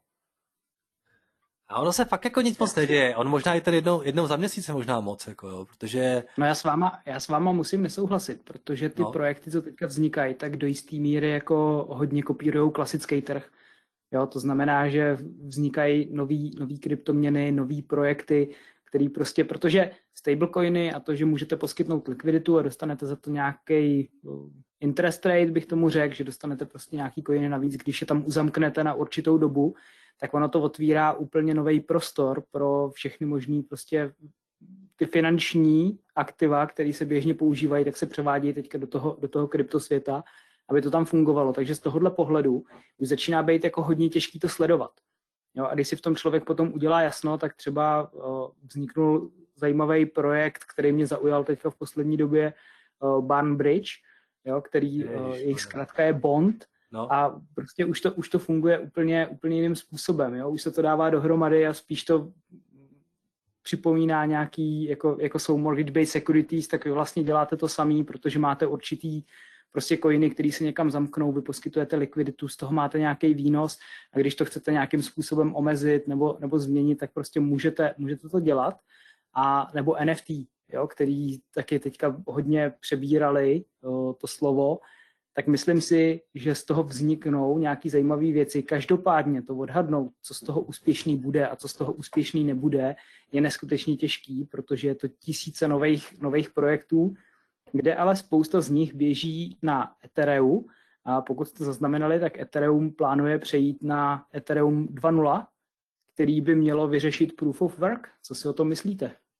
A ono se fakt jako nic moc neděje. On možná i ten jednou za měsíc je možná moc, jako jo, protože... No já s váma musím nesouhlasit, protože ty projekty, co teďka vznikají, tak do jistý míry jako hodně kopírujou klasický trh. Jo, to znamená, že vznikají nový kryptoměny, nový projekty, který prostě, protože stablecoiny a to, že můžete poskytnout likviditu a dostanete za to nějaký interest rate, bych tomu řekl, že dostanete prostě nějaký coiny navíc, když je tam uzamknete na určitou dobu, tak ono to otvírá úplně nový prostor pro všechny možný prostě ty finanční aktiva, které se běžně používají, tak se převádějí teďka do toho kryptosvěta, aby to tam fungovalo. Takže z tohohle pohledu už začíná být jako hodně těžký to sledovat. Jo, a když si v tom člověk potom udělá jasno, tak třeba vzniknul zajímavý projekt, který mě zaujal teďka v poslední době, Barn Bridge, jo, který jejich zkrátka je Bond. No. A prostě už to funguje úplně jiným způsobem. Jo? Už se to dává dohromady a spíš to připomíná nějaký, jako jsou mortgage-based securities, tak vy vlastně děláte to samý, protože máte určitý prostě coiny, který se někam zamknou, vy poskytujete likviditu, z toho máte nějaký výnos a když to chcete nějakým způsobem omezit nebo změnit, tak prostě můžete to dělat. A nebo NFT, jo? Který taky teďka hodně přebírali to slovo, tak myslím si, že z toho vzniknou nějaký zajímavé věci. Každopádně to odhadnout, co z toho úspěšný bude a co z toho úspěšný nebude, je neskutečně těžký, protože je to tisíce nových projektů, kde ale spousta z nich běží na Ethereum. A pokud jste zaznamenali, tak Ethereum plánuje přejít na Ethereum 2.0, který by mělo vyřešit Proof of Work. Co si o tom myslíte?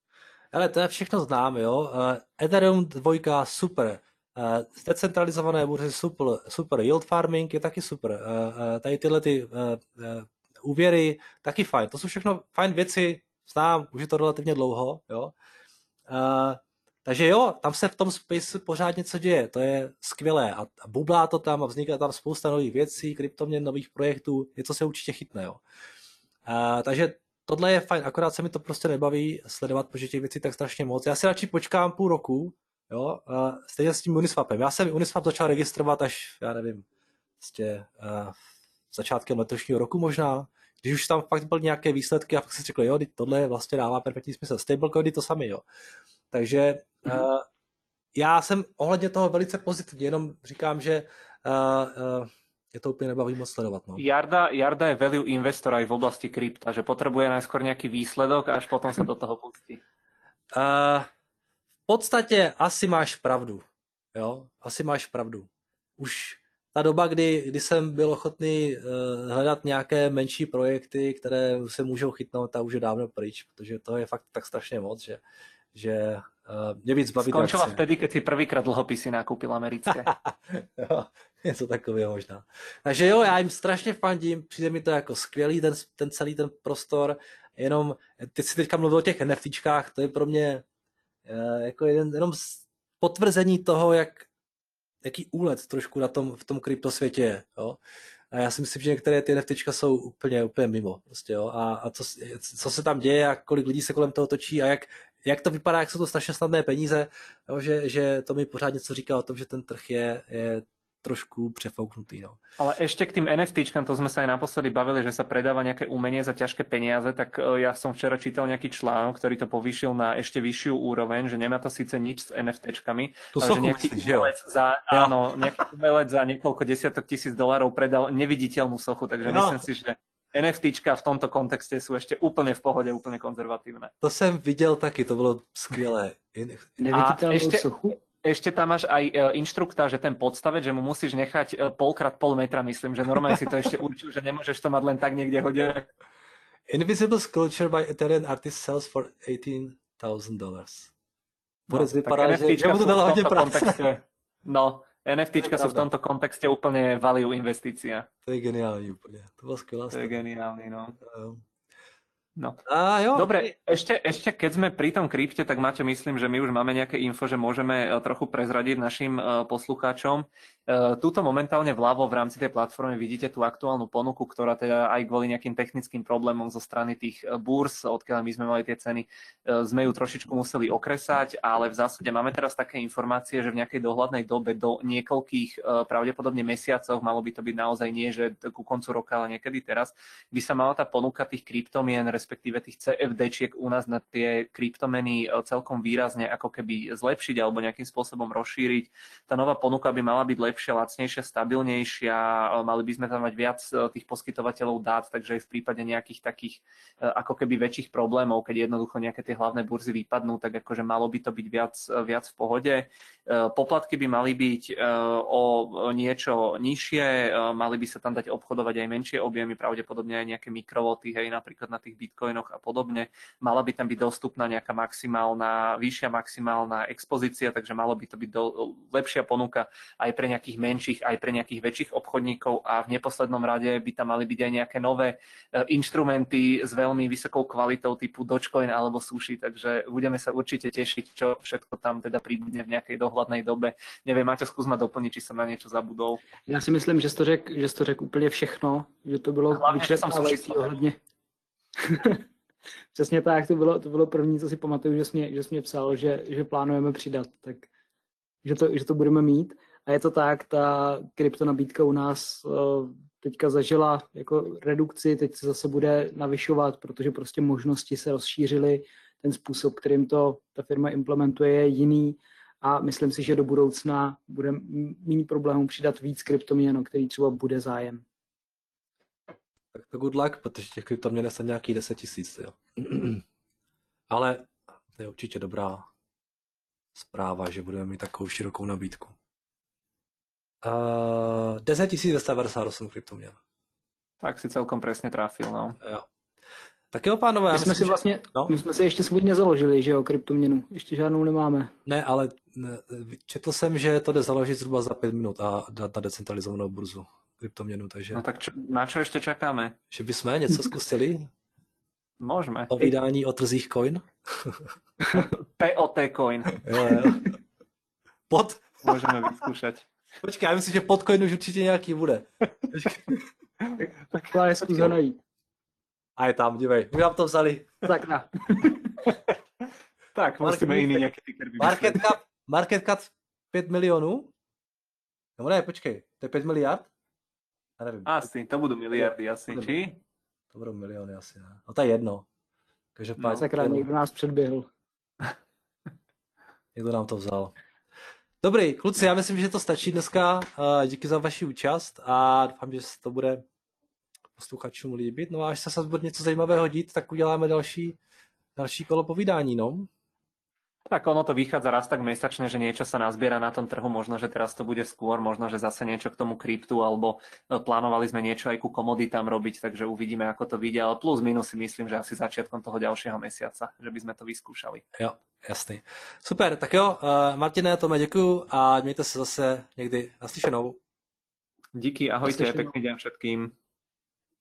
Ale to je všechno znám, jo. Ethereum 2 super. Decentralizované burzy super. Yield farming je taky super. Tady tyhle ty úvěry taky fajn. To jsou všechno fajn věci, znám, už je to relativně dlouho, jo. Takže jo, tam se v tom space pořád něco děje, to je skvělé a bublá to tam a vzniká tam spousta nových věcí, kryptoměn, nových projektů, něco se určitě chytne, jo. Takže tohle je fajn, akorát se mi to prostě nebaví sledovat, protože těch věcí tak strašně moc. Já si radši počkám půl roku, jo, stejně s tím Uniswapem. Já jsem Uniswap začal registrovat až, já nevím, prostě začátkem letošního roku možná, když už tam fakt byly nějaké výsledky a fakt si řekl, jo, tohle vlastně dává perfektní smysl. Stablecoiny to sami, jo. Takže já jsem ohledně toho velice pozitivní, jenom říkám, že je to úplně nebaví moc sledovat. No. Jarda je value investor aj v oblasti krypta, že potrebuje najskôr nejaký výsledok a až potom sa do toho pustí. V podstatě asi máš pravdu. Jo? Asi máš pravdu. Už ta doba, kdy jsem byl ochotný hledat nějaké menší projekty, které se můžou chytnout, ta už je dávno pryč, protože to je fakt tak strašně moc, že mě víc baví. Skončila vtedy, keď si prvýkrát dlhopisy nakúpil americké. Jo, něco takového možná. Takže jo, já jim strašně fandím, přijde mi to jako skvělý ten celý ten prostor, jenom, teď si teďka mluvil o těch NFTčkách, to je pro mě jako jenom potvrzení toho, jaký úlet trošku v tom kryptosvětě je, jo. A já si myslím, že některé ty NFTčka jsou úplně mimo, prostě, jo. A co se tam děje a kolik lidí se kolem toho točí a jak to vypadá, jak jsou to strašně snadné peníze, jo, že to mi pořád něco říká o tom, že ten trh je trošku přefouknutý. No. Ale ešte k tým NFTčkám, to sme sa aj naposledy bavili, že sa predáva nejaké umenie za ťažké peniaze, tak ja som včera čítal nejaký článok, ktorý to povýšil na ešte vyššiu úroveň, že nemá to síce nič s NFTčkami, ale že nejaký umelec za niekoľko desiatok tisíc dolárov predal neviditeľnú sochu, takže myslím si, že NFTčka v tomto kontexte sú ešte úplne v pohode, úplne konzervatívne. To jsem viděl taky, to bylo skvělé. Neviditeľnú sochu? Ešte tam máš aj inštruktáž, že ten podstavec, že mu musíš nechať pol metra, myslím, že normálne si to ešte určil, že nemôžeš to mať len tak niekde hodené. Invisible Sculpture by Ethereum artist sells for $18,000. Bude vypadá, že mu to dalo hodně práce. No, NFTčka sú v tomto kontexte úplne value investícia. To je geniální úplne. To bylo skvělá. To je geniálny, no. No. Jo. Dobre, ešte keď sme pri tom krypte, tak Maťo, myslím, že my už máme nejaké info, že môžeme trochu prezradiť našim poslucháčom. Tuto momentálne vľavo v rámci tej platformy vidíte tú aktuálnu ponuku, ktorá teda aj kvôli nejakým technickým problémom zo strany tých búrs, odkiaľ my sme mali tie ceny, sme ju trošičku museli okresať, ale v zásade máme teraz také informácie, že v nejakej dohľadnej dobe do niekoľkých pravdepodobne mesiacoch, malo by to byť naozaj nie, že ku koncu roka, ale niekedy teraz, by sa mala tá ponuka tých kryptomien, respektíve tých CFD-čiek u nás na tie kryptomeny celkom výrazne ako keby zlepšiť alebo nejakým spôsobom rozšíriť. Tá nová ponuka by mala byť lepšia, lacnejšia, stabilnejšia, mali by sme tam mať viac tých poskytovateľov dát, takže aj v prípade nejakých takých ako keby väčších problémov, keď jednoducho nejaké tie hlavné burzy vypadnú, tak akože malo by to byť viac v pohode. Poplatky by mali byť o niečo nižšie, mali by sa tam dať obchodovať aj menšie objemy, pravdepodobne aj nejaké mikrovoty, hej, napríklad na tých bitcoinoch a podobne. Mala by tam byť dostupná nejaká vyššia maximálna expozícia, takže malo by to byť lepšia ponuka aj pre nejakých menších, aj pre nejakých väčších obchodníkov a v neposlednom rade by tam mali byť aj nejaké nové inštrumenty s veľmi vysokou kvalitou typu Dogecoin alebo Sushi, takže budeme sa určite tešiť, čo všetko tam teda príbudne v nejakej dohľadnej dobe. Neviem, Maťo, skús ma doplniť, či som na niečo zabudol. Já si myslím, že jsi to řekl úplně všechno, že to bylo vyčerpávající ohledně. Přesně tak, to bylo první, co si pamatuju, že jsi mě psal, že plánujeme přidat, tak že to budeme mít. A je to tak, ta kryptonabídka u nás teďka zažila jako redukci, teď se zase bude navyšovat, protože prostě možnosti se rozšířily, ten způsob, kterým to ta firma implementuje, je jiný a myslím si, že do budoucna bude méně problémů přidat víc kryptoměn, o který třeba bude zájem. Tak to good luck, protože těch kryptoměn je nějaký 10 000, jo. Ale to je určitě dobrá zpráva, že budeme mít takovou širokou nabídku. 10 298 kryptoměn. Tak si celkom presne trafil, no. Jo. Tak jo, pánové. My jsme si ještě svůj nezaložili, že jo, kryptoměnu. Ještě žádnou nemáme. Ne, ale četl jsem, že to jde založit zhruba za 5 minut a dát na decentralizovanou burzu kryptoměnu, takže... No tak na čo ešte čakáme? Že bychom něco zkusili? Môžeme. O vydání o trzích coin? POT coin. Jo. Môžeme vyskúšať. Počkej, já myslím, že pod coin už určitě nějaký bude. Tak je zkus ho najít. A je tam, dívej, my vám to vzali. Tak na. Tak, musíme jiný nějaký ticker vymyslet. Market cap 5 milionů? No ne, počkej, to je 5 miliard? Já nevím. Asi, to budou miliardy asi, či? To budou miliony asi, ne? No to je jedno. No, sakra, někdo nás předběhl. Někdo nám to vzal. Dobrý, kluci, já myslím, že to stačí dneska. Díky za vaši účast a doufám, že se to bude posluchačům líbit. No a až se bude něco zajímavého dít, tak uděláme další kolo povídání, no. Tak ono to vychádza raz tak mesačne, že niečo sa nazbiera na tom trhu, možno, že teraz to bude skôr, možno, že zase niečo k tomu kryptu, alebo plánovali sme niečo aj ku komoditám robiť, takže uvidíme, ako to vyjde, ale plus minus si myslím, že asi začiatkom toho ďalšieho mesiaca, že by sme to vyskúšali. Jo, jasný. Super, tak jo, Martine, Tome, děkuju a mějte se zase někdy naslyšenou. Díky, ahojte, pekný deň všetkým.